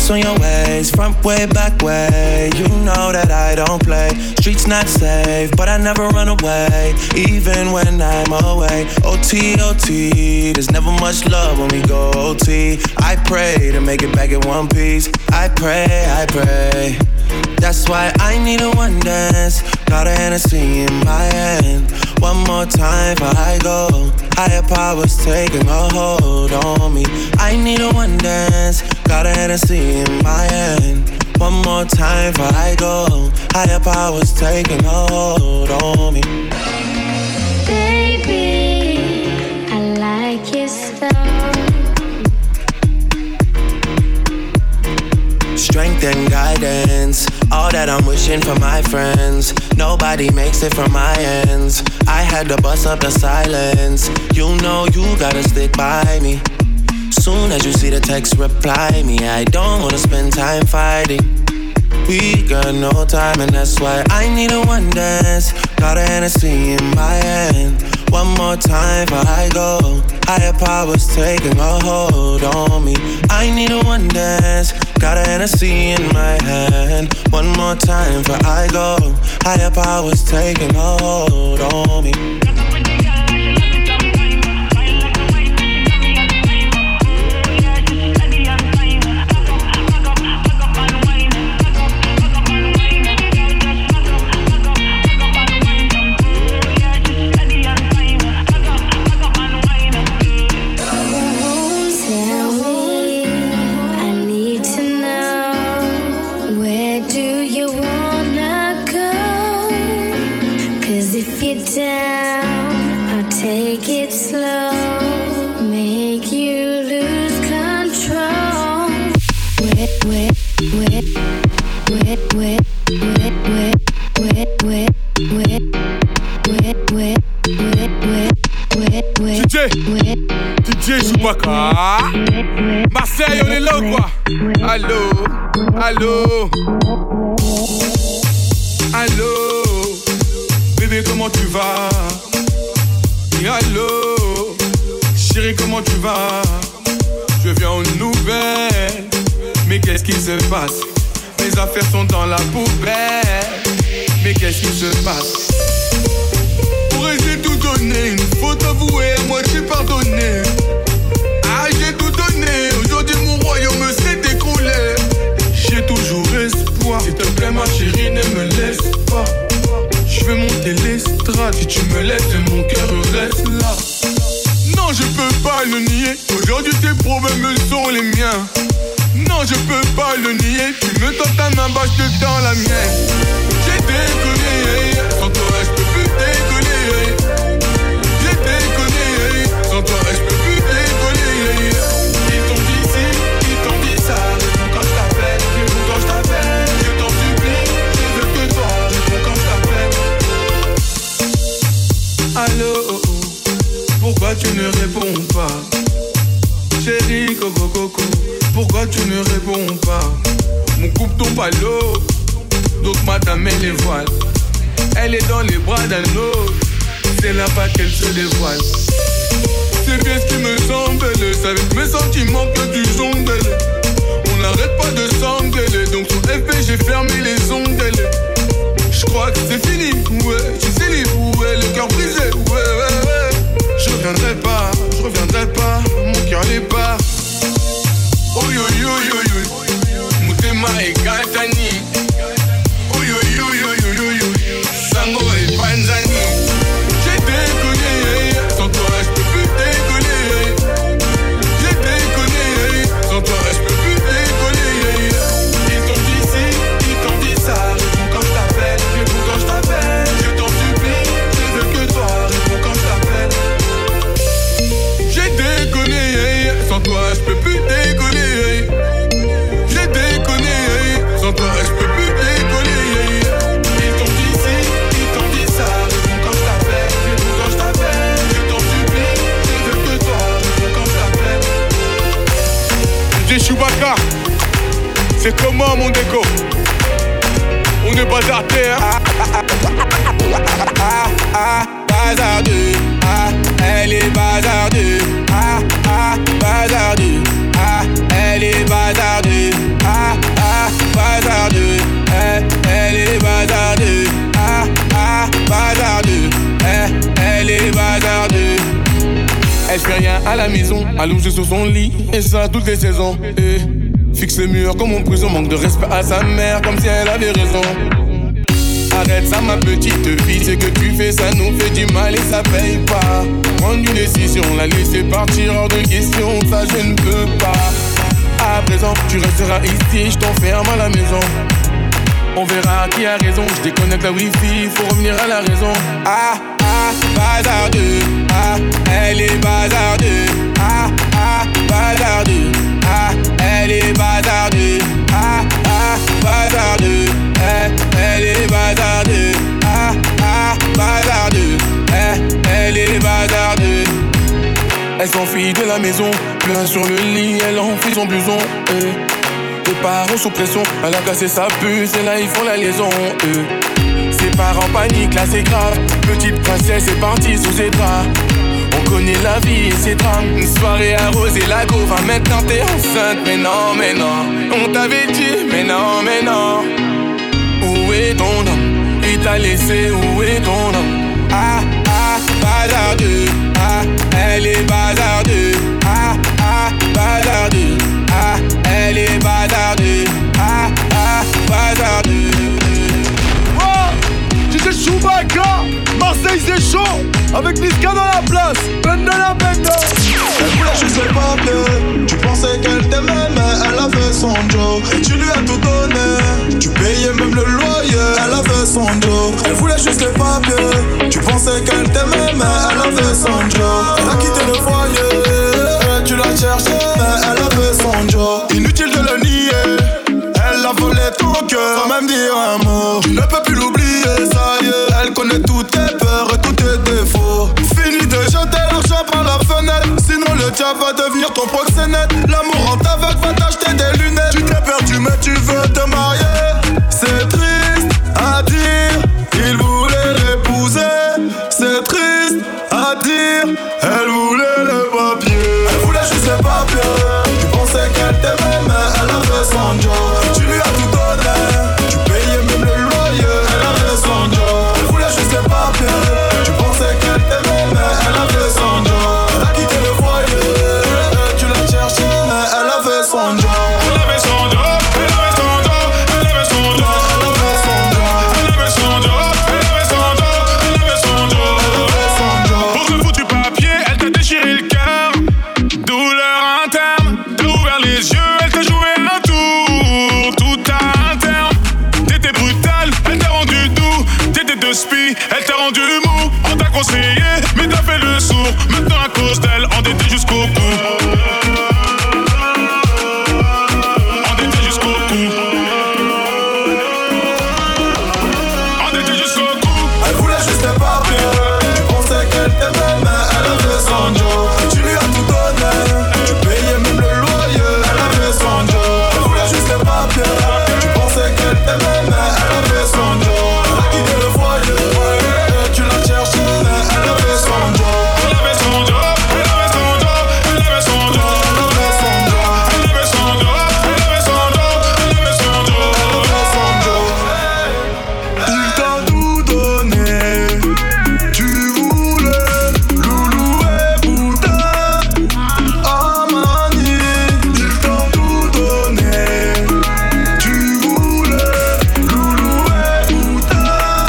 Ice on your ways, front way, back way. You know that I don't play. Streets not safe, but I never run away, even when I'm away. O T, O T, there's never much love when we go O T. I pray to make it back in one piece. I pray, I pray. That's why I need a one dance. Got a Hennessy in my hand. One more time before I go. Higher powers taking a hold on me. I need a one dance. Got a Hennessy in my hand. One more time before I go. Higher powers taking a hold on me. Baby, I like your style. Strength and guidance, all that I'm wishing for my friends. Nobody makes it from my ends. I had to bust up the silence. You know you gotta stick by me. Soon as you see the text, reply me. I don't wanna spend time fighting. We got no time and that's why I need a one dance. Got a Hennessy in my hand. One more time before I go. Higher powers taking a hold on me. I need a one dance. Got a Hennessy in my hand. One more time before I go. Higher powers taking a hold on me. D J Chewbacca. Marseille, on est là ou quoi? Allô, allô, allô. Bébé, comment tu vas? Et allô, chérie, comment tu vas? Je viens aux nouvelles. Mais qu'est-ce qui se passe? Mes affaires sont dans la poubelle. Mais qu'est-ce qui se passe? J'ai tout donné, une faute avouée, à moitié pardonné. Ah, j'ai tout donné, aujourd'hui mon royaume s'est écroulé. J'ai toujours espoir, s'il te plaît ma chérie, ne me laisse pas. Je vais monter l'estrade, si tu me laisses, mon cœur reste là. Non, je peux pas le nier, aujourd'hui tes problèmes sont les miens. Non, je peux pas le nier, tu me tends ta main, bah je te tends la mienne. J'ai déconné, sans toi je peux plus déconner. J'ai déconné, sans toi je peux plus déconner. Ils t'ont dit ci, ils t'ont dit ça. Réponds quand je t'appelle, réponds quand je t'appelle. Je t'en supplie, je veux que toi. Réponds quand je t'appelle. Allô, pourquoi tu ne réponds pas? Chérie, coco, coco, pourquoi tu ne réponds pas? Mon coupe tombe à l'eau, donc madame elle les voile. Elle est dans les bras d'un autre, c'est là-bas qu'elle se dévoile. C'est bien ce qui me semble, c'est avec mes sentiments que tu jongles. On n'arrête pas de s'engueuler, donc sur F P j'ai fermé les ongles. Je crois que c'est fini, ouais, je suis libre, ouais, le cœur brisé, ouais, ouais, ouais. Je reviendrai pas, je reviendrai pas, mon cœur n'est pas. Oh yo yo yo yo, Mutema et Katani. Oh yo yo yo yo yo yo, Sango et Panzani. J'ai déconné, sans toi je peux plus déconner. J'ai déconné, sans toi je peux plus déconner. Ils t'ont dit ci, ils t'ont dit ça. Réponds quand je t'appelle, réponds quand je t'appelle. Je t'en supplie, je veux que toi. Réponds quand je t'appelle. J'ai déconné, sans toi je peux plus déconner. J'ai déconné, sans toi je peux plus déconner. Ils t'ont dit ci, ils t'ont dit ça. Réponds quand je t'appelle, réponds quand je t'appelle. Je t'en supplie, je veux que toi. Réponds quand je t'appelle. D J Chewbacca, c'est comment mon déco? On est bazardé, hein? Ah, ah, bazardeux, ah, elle est bazardeux, ah, ah, bazardeux, ah, elle est bazardeux, ah, allongé sur son lit, et ça toutes les saisons. Et fixe les murs comme en prison, manque de respect à sa mère, comme si elle avait raison. Arrête ça ma petite fille, c'est que tu fais ça nous fait du mal et ça paye pas. Prendre une décision, la laisser partir hors de question, ça je ne peux pas. À présent, tu resteras ici, je t'enferme à la maison. On verra qui a raison, je déconnecte la wifi, faut revenir à la raison. Ah, ah, bazardeux, ah, elle est bazardeux. Ah, ah, bazardeux, ah, elle est bazardeux. Ah, ah, bazardeux, eh, elle est bazardeux. Ah, ah, bazardeux, eh, elle est bazardeux. Elle s'enfuit de la maison, plein sur le lit, elle enfuit son blouson. Eh. Les parents sous pression, elle a cassé sa puce et là ils font la liaison. Eh. Ses parents paniquent, là c'est grave. Petite princesse est partie sous ses draps. On connaît la vie et ses drames. Une soirée arrosée, la go va maintenant t'es enceinte. Mais non, mais non, on t'avait dit, mais non, mais non. Où est ton homme? Il t'a laissé, où est ton homme? Ah, ah, bazardeux, ah, elle est bazardeux. Ah, ah, bazardeux, ah, elle est bazardeux. Ah, ah, bazardeux. Oh, D J Chewbacca, Marseille c'est chaud. Avec Niska dans la place, benda la benda. Elle voulait juste le papier. Tu pensais qu'elle t'aimait mais elle a fait son job. Et tu lui as tout donné. Tu payais même le loyer, elle a fait son job. Elle voulait juste le papier. Tu pensais qu'elle t'aimait mais elle a fait son job. Elle a quitté le foyer. Tu l'as cherché mais elle a fait son job. Inutile de le nier. Elle a volé ton cœur sans même dire un mot. Tu ne peux plus l'oublier, ça y est. Elle connaît toutes tes peurs et tous tes défauts. Fini de jeter l'argent par la fenêtre. Sinon le diable va devenir ton proxénète. L'amour en t'aveugle va t'acheter des lunettes. Tu t'es perdu mais tu veux te marier. C'est triste à dire, il voulait l'épouser. C'est triste à dire, elle voulait le papier. Elle voulait juste le papier. Tu pensais qu'elle t'aimait mais elle a fait son job. Tu lui as tout donné. Tu payais même le loyer. Elle a fait son job. Elle voulait juste le papier. Tu pensais qu'elle t'aimait mais elle a fait son job. Elle a quitté le foyer. Tu l'as cherché mais elle a fait son job. Elle avait son job. Elle avait son job. Elle avait son job. Elle avait son job. Elle avait son job. Elle avait son job. Elle avait son job. Elle avait son job. Pour ce foutu papier, elle t'a déchiré le cœur. Douleur interne, t'as ouvert les yeux, elle t'a joué un tour. Tout à un terme, t'étais brutal, elle t'a rendu doux. T'étais de spi, elle t'a rendu mou. On t'a conseillé, mais t'as fait le sourd. Maintenant à cause d'elle, endetté jusqu'au cou. Endetté jusqu'au cou. Endetté jusqu'au cou. Elle voulait juste le papier. Tu pensais qu'elle t'aimait mais elle a fait son job. Tu lui as tout donné. Tu payais même le loyer. Elle a fait son job. Elle voulait juste le papier. Tu pensais qu'elle t'aimait mais elle a fait son job. Elle a quitté le foyer. Tu l'as cherché mais elle a fait son job. Elle avait son job. Elle avait son job. Elle avait son job. Elle avait son job. Elle avait son job. Elle avait son job. Elle avait son job. Elle avait son job. Il t'a tout donné. Tu voulais loulou et boutin. Amani. Il t'a tout donné. Tu voulais loulou et boutin.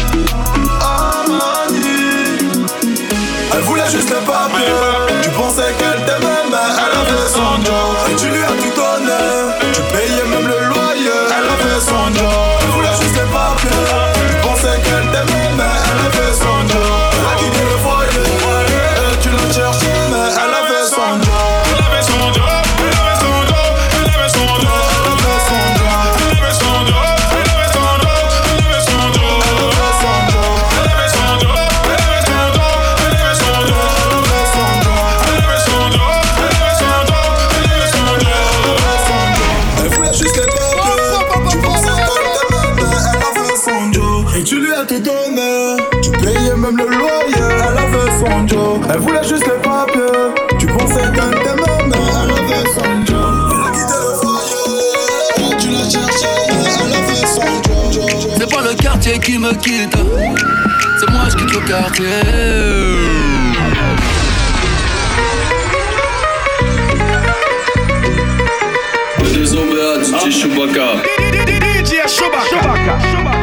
Amani. Elle voulait juste le papier. Tu pensais qu'elle t'aimait mais elle a fait son job. Et tu lui as tout donné. Tu payais même le loyer. Elle a fait son job. Elle voulait juste le papier. Tu pensais qu'elle t'aimait mais elle a fait son job. Elle a quitté le foyer. Et tu l'as cherché mais elle a fait son job. Elle avait son job. Elle avait son job. Elle avait son job. Elle a fait son job. Elle avait son job. Elle avait son job. Elle avait son job. Elle a fait son job. Elle avait son job. Elle avait son job. Elle avait son job. Elle a fait son job. Elle avait son job. Elle avait son job. Elle avait son job. Elle a fait son job. Elle voulait juste les papiers. Tu pensais qu'elle t'aimait mais elle a fait son job. Et tu lui as tout donné. Tu payais même le loyer. Elle a fait son job. Elle voulait juste les papiers. Tu pensais qu'elle t'aimait mais elle a fait son job. Elle a quitté le foyer. Tu l'as cherché mais elle a fait son job. C'est pas le quartier qui me quitte, c'est moi je quitte le quartier. D J Chewbacca. D J Chewbacca.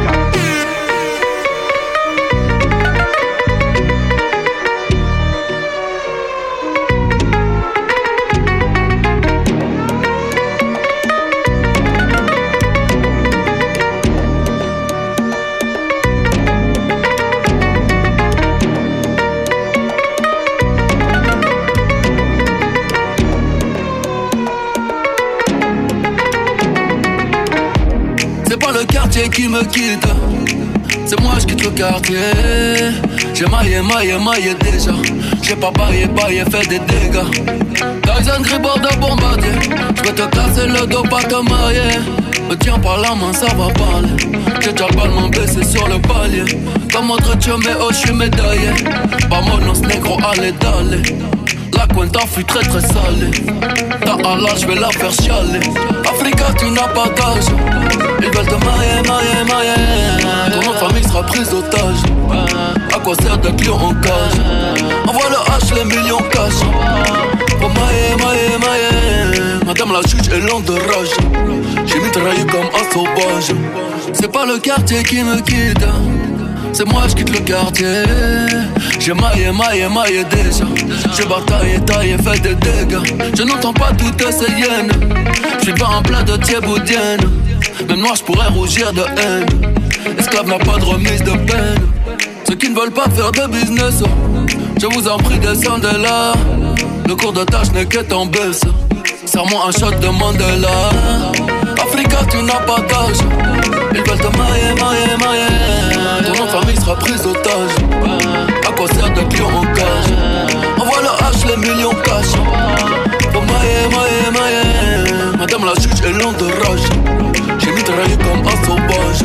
Qui me quitte, c'est moi je quitte le quartier. J'ai maillé, maillé, maillé déjà. J'ai pas baillé, baillé, fait des dégâts. Tyson Gribord de bombardier. J'vais te casser le dos, pas te marier. Me tiens par la main, ça va parler. J'ai déjà le ballon baissé sur le palier. Comme autre tio, mais oh, j'suis médaillé. Vamonos négro, allez, d'aller. La cuenta fut très très salée. Ta Allah, j'vais la faire chialer. Africa, tu n'as pas d'âge. Ils veulent te marier, marier, marier. Ton nom de famille sera prise d'otage. À quoi sert d'être lion en cage? Envoie le H, les millions cash. Pour mailler, mailler, mailler. Madame la juge est lente de rage. J'ai mitraillé comme un sauvage. C'est pas le quartier qui me quitte, c'est moi je quitte le quartier. J'ai maillé, maillé, maillé déjà. J'ai bataillé, taillé, fait des dégâts. Je n'entends pas toutes ces hyènes. J'suis pas en plein de thieboudienne. Même moi je pourrais rougir de haine. Esclave n'a pas de remise de peine. Ceux qui ne veulent pas faire de business, je vous en prie descendez là. Le cours de tâche n'est qu'être en baisse. Serre-moi un shot de Mandela. Africa tu n'as pas d'âge. Ils veulent te marier, marier, marier. Ton nom de famille sera prise d'otage. À quoi sert d'être lion en cage? Envoie le H, les millions cash. Pour mailler, mailler, mailler. Madame la juge est lente de rage. J'ai mitraillé comme un sauvage.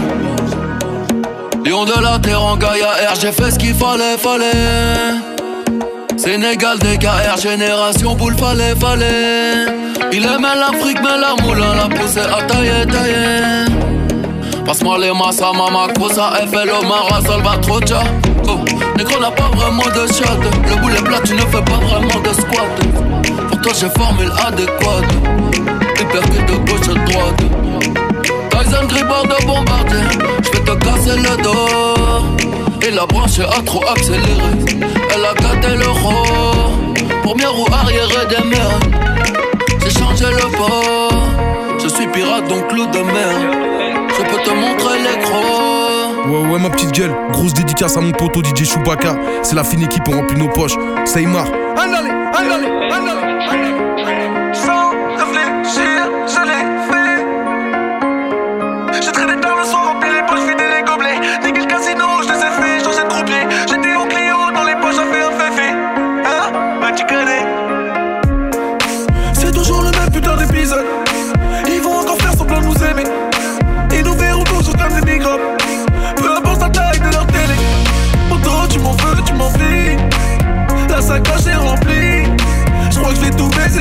Lion de la terre en Gaïa R, j'ai fait ce qu'il fallait, fallait. Sénégal, D K R, génération boule, fallait, fallait. Il aimait l'Afrique, mais la moulin l'a poussé à tailler, tailler. Passe-moi les massas, mama, cosa, F L O, Mara, Salvatrocha. Oh, négro n'a pas vraiment de shot. Le boulet plat, tu ne fais pas vraiment de squat. Pour toi, j'ai formule adéquate. Hypercute de gauche à droite. Tyson Gribord de bombardier. J'vais te casser le dos. Et la branche a trop accéléré. Elle a gâté l'euro. Première roue arrière et des mers. J'ai changé le port. Je suis pirate donc loup de mer. Je peux te montrer les crocs. Ouais ouais ma petite gueule. Grosse dédicace à mon poteau D J Chewbacca. C'est la fine équipe, on remplit nos poches. Seymar. Allez, allez, allez, allez. Sans réfléchir, je l'ai fait. J'ai traîné tard le soir, rempli les poches, vidé les gobelets. Niqué le casino, je les ai fait, changé de croupier. J'étais au Clio, dans les poches, j'ai fait un féfé. Hein? Bah tu connais. C'est toujours le même putain d'épisode. Ils vont encore faire semblant de nous aimer. Ils nous verront toujours comme des microbes. Peu importe la taille de leur télé. Pourtant tu m'en veux, tu m'en fies. La sacoche est remplie. J'crois que je vais tout baiser.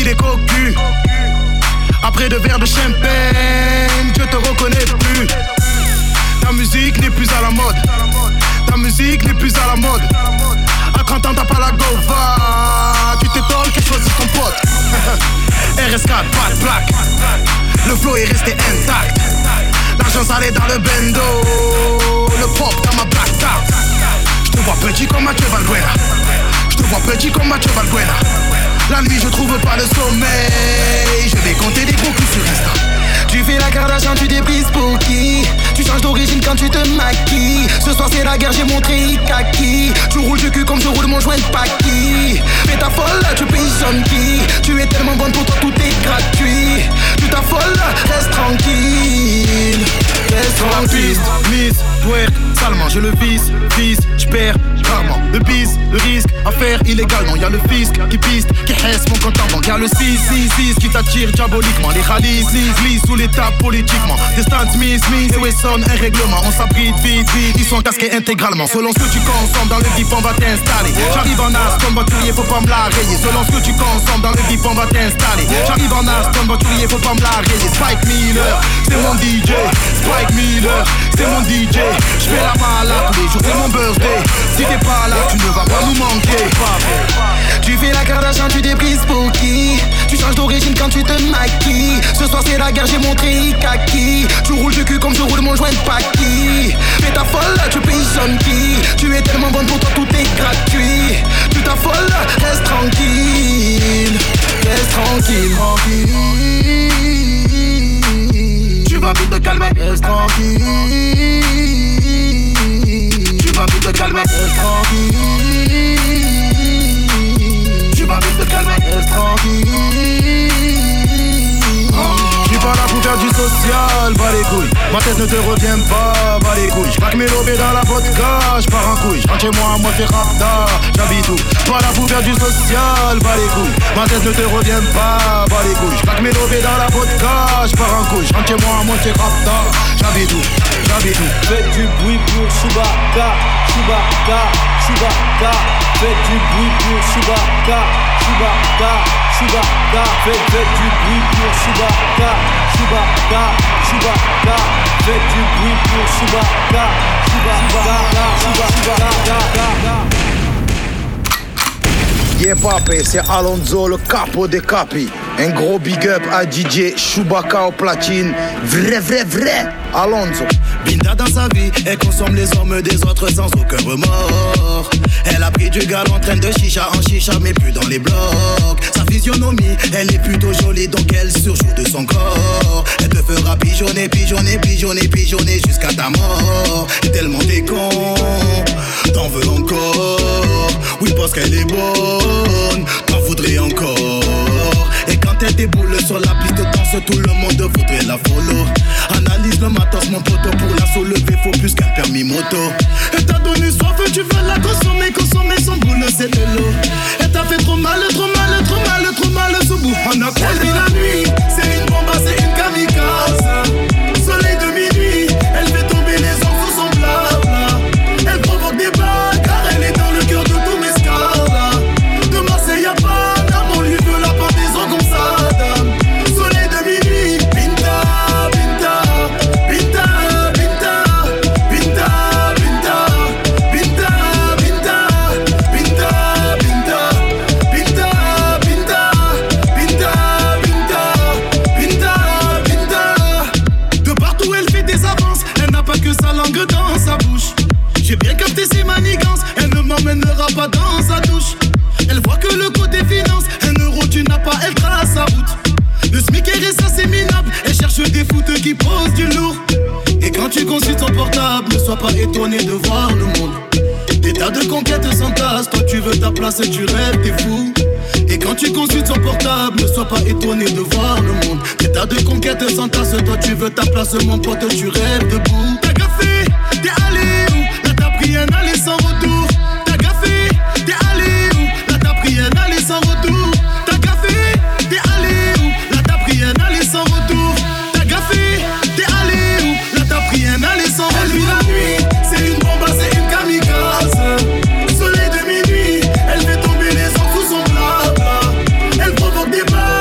il est cocu. Après deux verres de champagne, je te reconnais plus. Ta musique n'est plus à la mode. Ta musique n'est plus à la mode. À trente ans t'as pas la gova. Tu t'étonnes qu'elle choisit ton pote. R S quatre, pas de plaque. Le flow est resté intact. L'argent salé dans le bendo. Le pop dans ma black card. Je te vois petit comme Mathieu Valbuena. Je te vois petit comme Mathieu Valbuena. La nuit je trouve pas le sommeil. Je vais compter des gros coups sur Insta. Tu fais la Kardashian, tu débrises pour qui? Tu changes d'origine quand tu te maquilles. Ce soir c'est la guerre, j'ai montré kaki. Tu roules du cul comme je roule mon joint de Paki. Fais ta folle, tu pigeonnes qui? Tu es tellement bonne pour toi, tout est gratuit. Tu t'affoles, reste tranquille. Reste tranquille. Miss, twerk, salement je le vise, vise, j'perds rarement. Le bis, le risque, affaire illégale. Non y'a le fisc qui piste, qui hesse mon compte en banque. Y'a le six six six qui t'attire diaboliquement. Les rallyes, lise, lise sous l'état politiquement. Des Stan Smith, Smith et Wesson, un règlement. On s'abrite vite, vite, ils sont casqués intégralement. Selon ce que tu consommes dans le vip, on va t'installer. J'arrive en as comme voiturier, faut pas me la rayer. Selon ce que tu consommes dans le vip, on va t'installer. J'arrive en as comme voiturier, faut pas me la rayer. Spike Miller, c'est mon D J. Spike Miller, c'est mon D J. J'fais la malade tous les jours, c'est mon birthday. Si t'es pas là, tu ne vas pas nous manquer. Tu fais la Kardashian, tu débrises pour qui? Tu changes d'origine quand tu te maquilles. Ce soir c'est la guerre, j'ai montré kaki. Tu roules du cul comme je roule mon joint de Paki. Fais ta folle, tu pigeonnes qui? Tu es tellement bonne pour toi, tout est gratuit. Tu t'affoles, reste tranquille. Reste tranquille, tranquille. Tu vas vite te calmer, reste tranquille. Tu vas vite te calmer, reste tranquille. Tu vas vite te calmer, reste tranquille. J'suis pas là pour faire du social, bas les couilles. Ma tête ne te revient pas, bas les couilles. J'craque mes lobés dans la vodka, j'pars en couille. J'rentre chez moi, moi c'est rapta, j'habite où? Pas là pour faire du social, bas les couilles. Ma tête ne te revient pas, bas les couilles. J'craque mes lobés dans la vodka, j'pars en couille. J'rentre chez moi, moi c'est rapta, j'habite où? J'habite où? Faites du bruit pour Chewbacca, Chewbacca, Chewbacca. Faites du bruit pour Chewbacca, Chewbacca, Chewbacca. Faites, faites du bruit pour Chewbacca, Chewbacca, Chewbacca. Faites du bruit pour Chewbacca, Chewbacca, Chewbacca. Yeah papé, c'est Alonso le capo des capis. Un gros big up à D J Chewbacca au platine. Vrai, vrai, vrai, Alonso. Binda dans sa vie, elle consomme les hommes des autres sans aucun remords. Elle a pris du gal en train de chicha en chicha mais plus dans les blocs. Sa physionomie, elle est plutôt jolie donc elle surjoue de son corps. Elle te fera pigeonner, pigeonner, pigeonner, pigeonner jusqu'à ta mort. Et tellement t'es con, t'en veux encore. Oui parce qu'elle est bonne, t'en voudrais encore. Et quand elle déboule sur la piste de danse, tout le monde voudrait la follow. Analyse le matos mon poteau, pour la soulever faut plus qu'un permis moto. Elle t'a donné soif, tu veux la consommer, consommer son boule c'est de l'eau. Elle t'a fait trop mal, trop mal, trop mal, trop mal ce bout. On a croisé la nuit, c'est une bombe, c'est une kamikaze. Soleil de minuit, elle fait tomber les gens sous son blabla. Elle provoque des blagues car elle est dans le cœur de tous mes scars. De Marseille à Paname, on lui veut la pendaison comme ça. Soleil de minuit, Pinta, Pinta, Pinta, Pinta, Pinta, Pinta, Pinta, Pinta, Pinta, Pinta, Pinta, Pinta, Pinta, Pinta, Pinta, Pinta. De partout elle fait des avances, elle n'a pas que sa langue dans sa bouche. J'ai bien capté ses manigances, elle ne m'emmènera pas dans sa douche. Elle voit que le côté finance, un euro tu n'as pas, elle trace sa route. Le SMIC est assez minable, elle cherche des foutes qui posent du lourd. Et quand tu consultes son portable, ne sois pas étonné de voir le monde. Des tas de conquêtes s'entassent, toi tu veux ta place et tu rêves, t'es fou. Et quand tu consultes son portable, ne sois pas étonné de voir le monde. Des tas de conquêtes s'entassent, toi tu veux ta place, mon pote, tu rêves debout. T'as gaffé, t'es allé où? Là t'as pris un aller sans retour. T'as gaffé, t'es allé où? Là t'as pris un aller sans retour. T'as gaffé, t'es allé où? Là t'as pris un aller sans retour. T'as gaffé, t'es allé où? Là t'as pris un aller sans retour. Elle vit la nuit, c'est une bombe, c'est une kamikaze. Soleil de minuit, elle fait tomber les gens sous son blabla. Elle provoque des balles.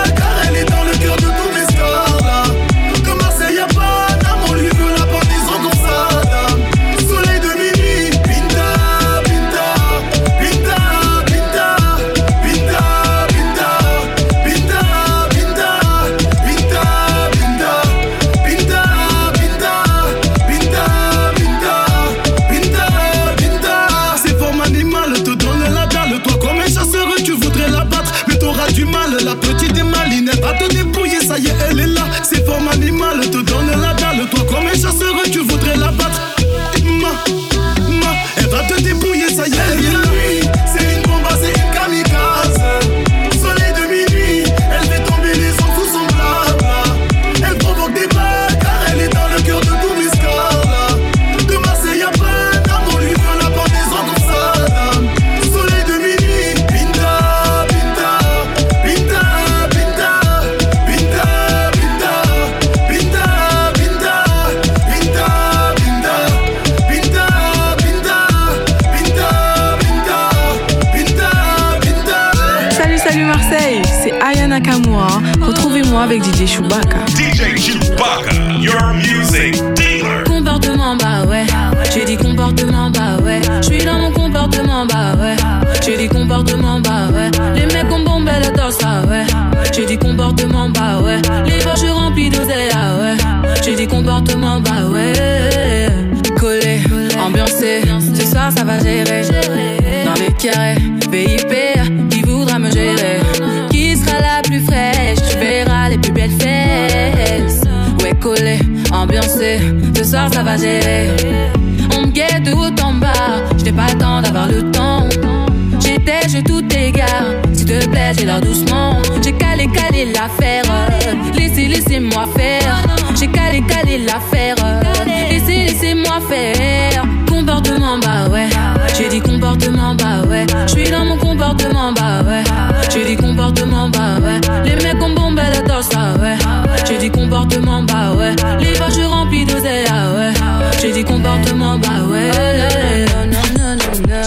Hey, c'est Aya Nakamura. Retrouvez-moi avec D J Chewbacca. D J Chewbacca, your music dealer. Comportement, bah ouais. J'ai dit comportement, bah ouais. J'suis dans mon comportement, bah ouais. J'ai dit comportement, bah ouais. Les mecs ont bombé le dos, ah ouais. J'ai dit comportement, bah ouais. Les poches remplies d'oseille, ah ouais. J'ai dit comportement, bah ouais. Collé, ambiancé, ce soir ça va gérer. Dans les carrés, V I P, qui voudra me gérer? Qui sera la plus fraîche? Tu verras les plus belles fesses. Ouais, collé, ambiancé, ce soir ça va gérer. On me guette de haut en bas, j'n'ai pas le temps d'avoir le temps. J'étais, je tout égare, s'il te plaît, j'ai l'air doucement. J'ai calé, calé l'affaire, laissez, laissez-moi faire. J'ai calé, calé l'affaire, laissez, laissez-moi faire. Comportement, bah ouais. J'ai dit comportement, bah ouais. J'suis dans mon comportement, bah ouais. J'ai dit comportement, bah ouais. Les mecs ont bombé le dos, ah ouais. J'ai dit comportement, bah ouais. Les poches remplies d'oseille, ah ouais. J'ai dit comportement, bah ouais. Non, non, non, non, non.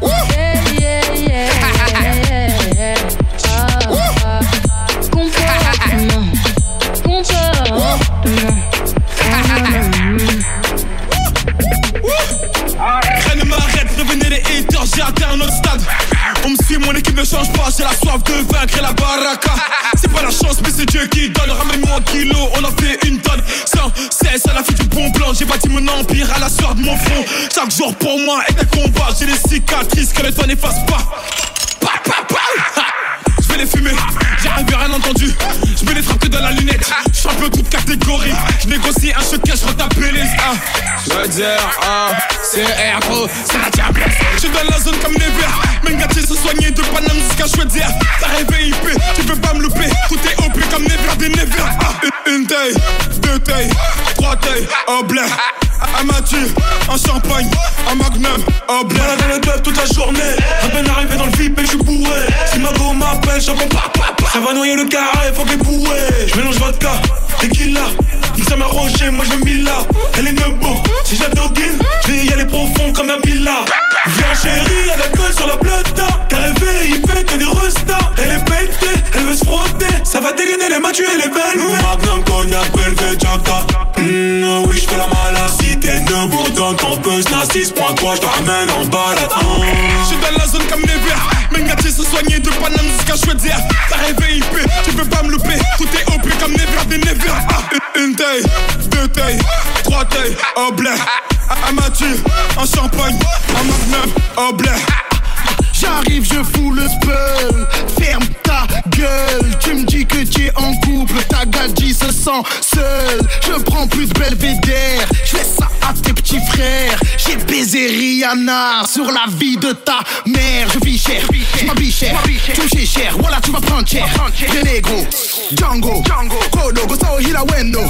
J'ai atteint un autre stade. On me suit, mon équipe ne change pas. J'ai la soif de vaincre et la baraka. C'est pas la chance, mais c'est Dieu qui donne. Ramène-moi un kilo, on en fait une tonne. Sans cesse à la vie du bon plan. J'ai bâti mon empire à la sueur de mon front. Chaque jour pour moi est un combat. J'ai des cicatrices que le temps n'efface pas. Pa, pa, pa. Je vais les fumer, j'ai rien entendu. Je vais les frapper dans la lunette. Champion toute catégorie. Je négocie un choc, je retape les ah. Je veux dire, ah, c'est R gros, c'est la diablesse. Je suis dans la zone comme Never. Mengati se soigner de Paname jusqu'à choisir. T'as rêvé I P, tu peux pas me louper. Tout est O P comme Never des Never. Ah, une taille, deux tailles, trois tailles, au blé. Un Mathieu, un champagne, un magnum, au blé. Voilà dans le club toute la journée. À peine arrivé dans le V I P, je suis bourré. Si ma go m'appelle, je réponds pas, pas, pas. Ça va noyer le carré, faut que les bourrés. Je mélange vodka, tequila. Il ça m'a rangé, moi je mis là. Elle est nebo, si j'adoguine, je vais y aller profond comme un villa. Viens chérie, elle a colle sur la plata. T'as rêvé, il fait que des restas. Elle est pétée, elle veut se frotter. Ça va dégainer les matchs et les belles. Magnum, cognac, Belvé, Jacta. Mmh, oui, j'fais la malade. Si t'es debout dans ton buzz, n'a six point trois, j'te ramène en balade. J'suis dans la zone comme Never. Mengati se soigner de Paname jusqu'à choisir. T'as rêvé I P, tu peux pas me louper. Tout est O P comme Never des Never. Ah, une taille, deux tailles, trois tailles, au blé. Un Mathieu, un champagne, un magnum, au blé. J'arrive, je fous le spell. Ferme ta gueule. Tu me dis que tu es en couple. Ta gadji se sent seule. Je prends plus de Belvédère. Je fais ça à tes petits frères. J'ai baisé Rihanna sur la vie de ta mère. Je vis cher, je m'habille cher. Touché cher, voilà tu vas prendre cher. Les négros, Django, Kodo, Gosao, Hilawendo.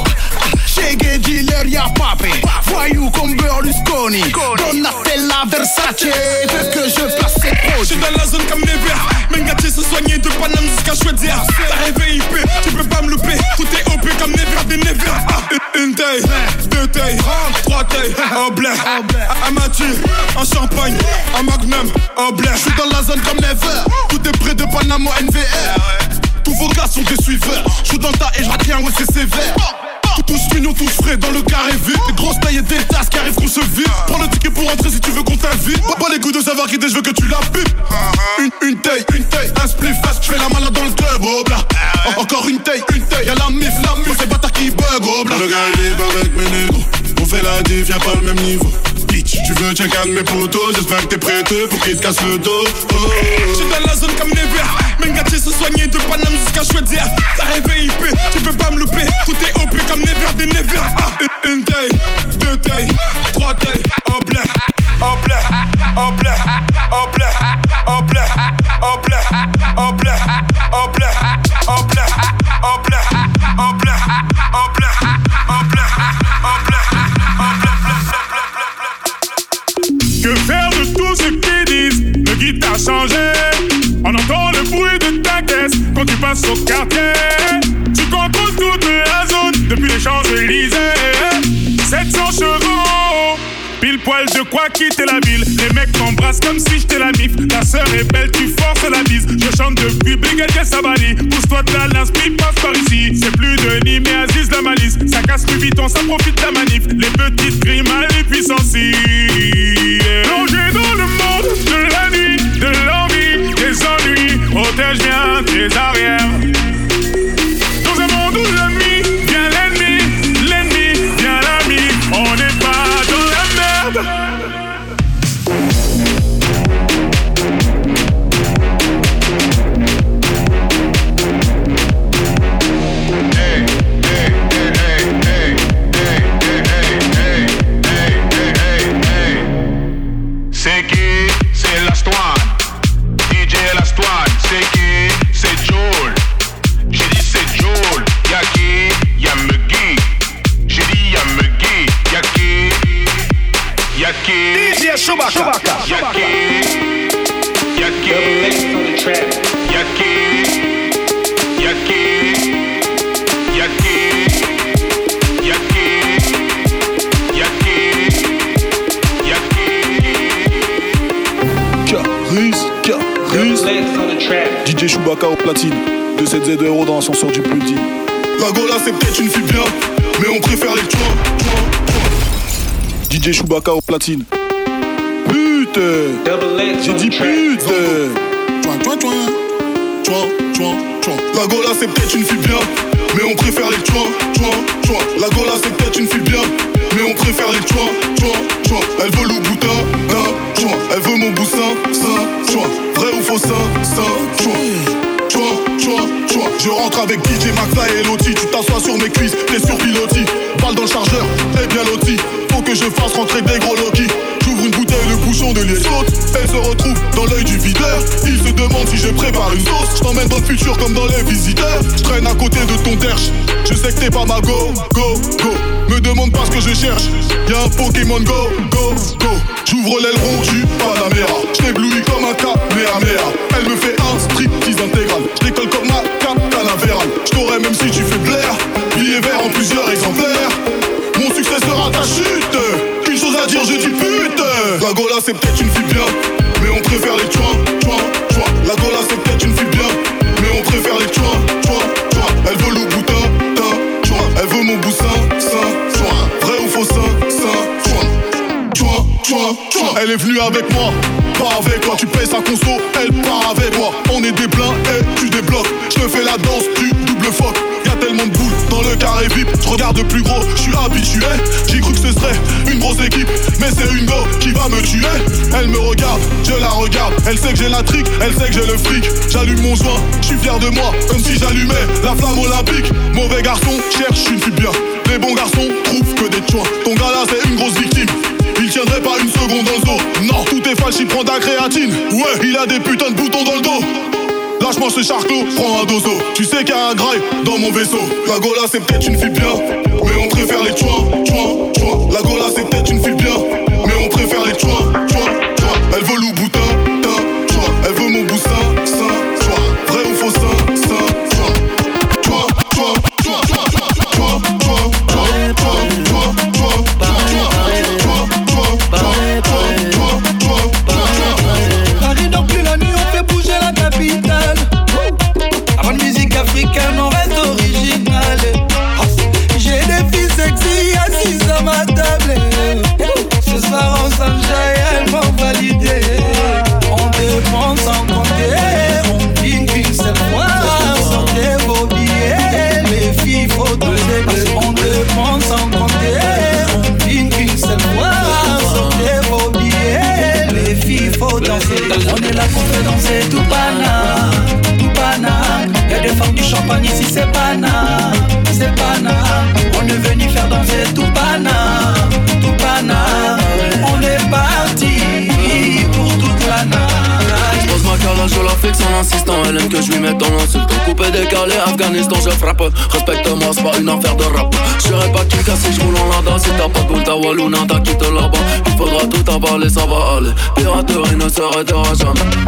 Shege, dealer, y'a papé. Voyou comme Berlusconi. Donatella, Versace. Veux que je place ses projets. J'suis dans la zone comme Never. Mengati se soigner de Paname jusqu'à choisir. T'as rêvé I P, tu peux pas me louper. Tout est O P comme Never des Never. Ah, une taille, deux tailles, trois tailles, au blé. Un Mathieu, un champagne, un magnum, au blé. J'suis dans la zone comme Never. Tout est près de Panama N V R. Tous vos gars sont des suiveurs. J'suis dans ta et j'retiens, ouais c'est sévère. Tous mignons, tous frais dans le carré vide. Des grosses tailles et des tasses qui arrivent qu'on se vide. Prends le ticket pour rentrer si tu veux qu'on t'invite. Pas les coups de savoir qui t'es, je veux que tu la pipes. Une, une taille, une taille, un spliff, je fais la malade dans le club, oh bla. Encore une taille, une taille, y'a la mif, la mif, c'est bâtard qui bug, oh bla. Le gars libre avec mes négros, on fait la diff, y'a pas le même niveau. Bitch, tu veux check un de mes potos, j'espère que t'es prêteux pour qu'il te casse le dos. Oh, oh. J'suis dans la zone comme Never. Mengati se soigner de Paname jusqu'à choisir. T'as rêvé I P, tu peux pas me louper. Tout est O P comme Never des Never. Ah, une, une taille, deux tailles, trois tailles, au blé, au blé, au blé, au blé, au blé, au blé, au blé, au blé, au blé, au blé, au blé, au blé, au blé, au blé. Que faire de tout ce qu'ils disent? Le guide a changé. On entend le bruit de ta caisse quand tu passes au quartier. Tu contrôles toute la zone depuis les Champs-Élysées. sept cents chevaux, pile poils, de quoi quitter la ville. Les mecs m'embrassent comme si j'étais la mif. Ta sœur est belle, tu forces la bise. Je chante depuis Brigadier Sabali. Pousse-toi de là, l'inspi passe par ici. C'est plus Denis mais Aziz la malice. Ça casse plus vite, on ça profite de la manif. Les petites grimes à les puissances. Plongé dans le monde de la nuit, de l'envie, des ennuis. Protège bien tes arrières. Dans un monde où l'ennemi vient l'ennemi, l'ennemi vient l'ami. On n'est pas dans la merde. C'est qui? C'est l'Astoine. D J l'Astoine. C'est qui? C'est Joel. J'ai dit c'est Joel. Y'a qui? Y'a Muggy. J'ai dit y'a Muggy. Y'a qui? Y'a qui? D J Chewbacca. Y'a qui? Y'a qui? Y'a qui? Y'a qui? Y'a qui? Y'a qui? Y'a Caris, Caris. D J Chewbacca au platine. deux cent soixante-dix euros dans l'ascenseur du plus dit. La Gola c'est peut-être une fille bien, mais on préfère les tuins. D J Chewbacca au platine. Putain, j'ai dit putain. Tuin, tuin, tuin. Tuin, tuin, tuin. La Gola c'est peut-être une fille bien, mais on préfère les tuins, tuins, tuins. La Gola c'est peut-être une fille bien, mais on préfère les tuins, tuins, tuins. Elle veut le boutin, d'un, tuin. Elle veut mon boussin, ça, tuin. Vrai ou faux, ça, ça, tuin. Tuin, tuin, tuin. Je rentre avec D J McFly et Loti. Tu t'assois sur mes cuisses, t'es sur pilotis. Balle dans le chargeur, t'es bien loti. Faut que je fasse rentrer des gros Loki. J'ouvre une bouteille, le bouchon de liège saute. Elle se retrouve dans l'œil du videur. Il se demande si je prépare une sauce. Je t'emmène dans le futur comme dans les visiteurs. Je traîne à côté de ton terche. Je sais que t'es pas ma go, go, go. Me demande pas ce que je cherche. Y'a un Pokémon go, go, go. J'ouvre l'aileron du Panamera. Je t'éblouis comme un Kamehameha. Elle me fait un striptease intégral. Je décolle comme ma Canaveral. Je t'aurai même si tu fais blaire. Billet vert en plusieurs exemplaires. Mon succès sera ta chute. Une chose à dire, je dis pute. La Gola c'est peut-être une fille bien, mais on préfère les tuins, tuins, tuins. La Gola c'est peut-être une fille bien, mais on préfère les tuins, tuins, tuins. Elle veut le boutin, tin, tuin. Elle veut mon boussin, sein, tuin. Vrai ou faux, sein, sein, tuin. Tuin, tuin, tuin. Elle est venue avec moi, pas avec toi. Tu payes sa conso, elle part avec moi. On est des pleins et tu débloques. Je te fais la danse du double phoque. Y'a tellement de boules dans le carré V I P. Je regarde de plus gros, je suis habitué. J'ai cru que ce serait une grosse équipe, mais c'est une go qui va me tuer. Elle me regarde, je la regarde. Elle sait que j'ai la trique, elle sait que j'ai le fric. J'allume mon joint, je suis fier de moi, comme si j'allumais la flamme olympique. Mauvais garçon, cherche une fille bien. Les bons garçons trouvent que des tuins. Ton gars là c'est une grosse victime. Il tiendrait pas une seconde dans le dos. Non, tout est falche, il prend de la créatine. Ouais, il a des putains de boutons dans le dos. Lâche-moi ce charclos, prends un dozo. Tu sais qu'il y a un graille dans mon vaisseau. La Gola c'est peut-être une fille bien, mais on préfère les tuins, tuins, tuins. La Gola c'est peut-être une fille bien, mais on préfère les tuins, tuins, tuins. Elle veut le boutin, tin, tuin. Elle veut mon boussin, sein, tuin. Vrai ou faux, sein, sein, tuin. Tuin, tuin, tuin, tuin, tuin, tuin, tuin, tuin, tuin, tuin, Paris dans plus la nuit, on fait bouger la capitale. Avant de musique africaine, on reste original. J'ai des filles sexy assises à ma table. Ce soir on s'enjaille, elles m'ont validé. On dépense sans compter, on vit qu'une seule fois. Sortez vos billets, les filles faut doser. On dépense sans compter, on vit qu'une seule fois. Sortez vos billets, les filles faut danser. On est là pour faire danser tout pana, tout pana. Y'a des femmes du champagne ici, c'est pana, c'est pana. On est venu faire danser tout pana, tout pana. On est parti pour toute la night. J'pose ma calage, je la fixe en insistant. Elle aime que je lui mette dans l'insulte. Coupé, décalé, Afghanistan, je frappe. Respecte-moi, c'est pas une affaire de rap. J'serai pas Kika si j'roule en lada. Si t'as pas de boule, ta Wallouna, t'as quitté là-bas. Il faudra tout avaler, ça va aller. Piraterie ne s'arrêtera jamais.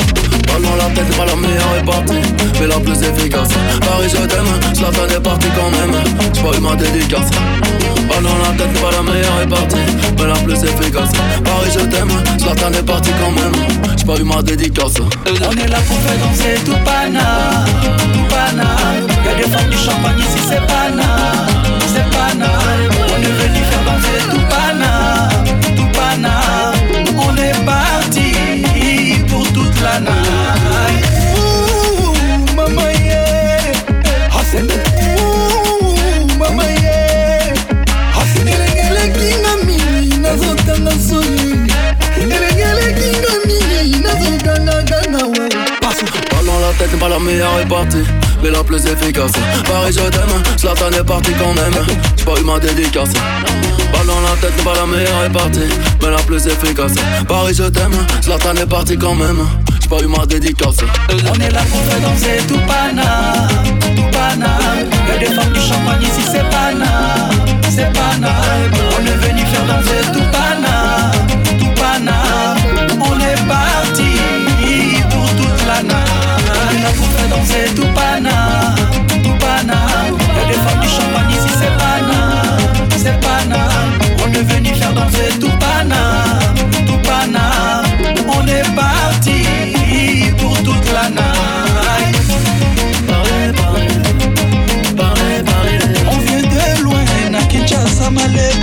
Oh non, la tête n'est pas la meilleure est partie, mais la plus efficace. Paris je t'aime, Zlatan est parti quand même. J'ai pas eu ma dédicace. Oh non, la tête n'est pas la meilleure est partie, mais la plus efficace. Paris je t'aime, Zlatan est parti quand même. J'ai pas eu ma dédicace. On est là pour faire danser tout pana, tout pana. Y'a des femmes du champagne ici, c'est pana, c'est pana. On est venu faire danser tout pana, tout pana. On est parti pour toute la night. Ouh, maman yeah, ah c'est ouh, maman yeah, ah c'est ngelengele kinga mimi nazota na soli, ngelengele kinga mimi nazota na gana we. Oh non, la tête n'est pas la meilleure est partie, mais la plus efficace. Paris je t'aime, Zlatan est parti quand même. J'ai pas eu ma dédicace. Oh non, la tête n'est pas la meilleure est partie, mais la plus efficace. Paris je t'aime, Zlatan est parti quand même. J'ai pas eu ma dédicace. On est là pour faire danser tout pana, tout pana. Y'a des femmes du champagne ici, c'est pana, c'est pana. On est venu faire danser tout pana, tout pana. On est parti pour toute la night. On est là pour faire danser tout pana, tout pana. Y'a des femmes du champagne ici, c'est pana, c'est pana. On est venu faire danser tout pana, tout pana. On est parti pour toute la night. Paré, paré, paré, paré. On vient de loin, na Kinshasa, Malebo.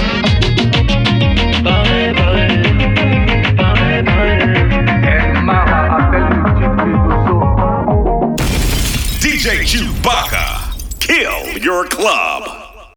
Paré, paré, paré, paré. And Mara appelle le D J Chewbacca. Kill your club.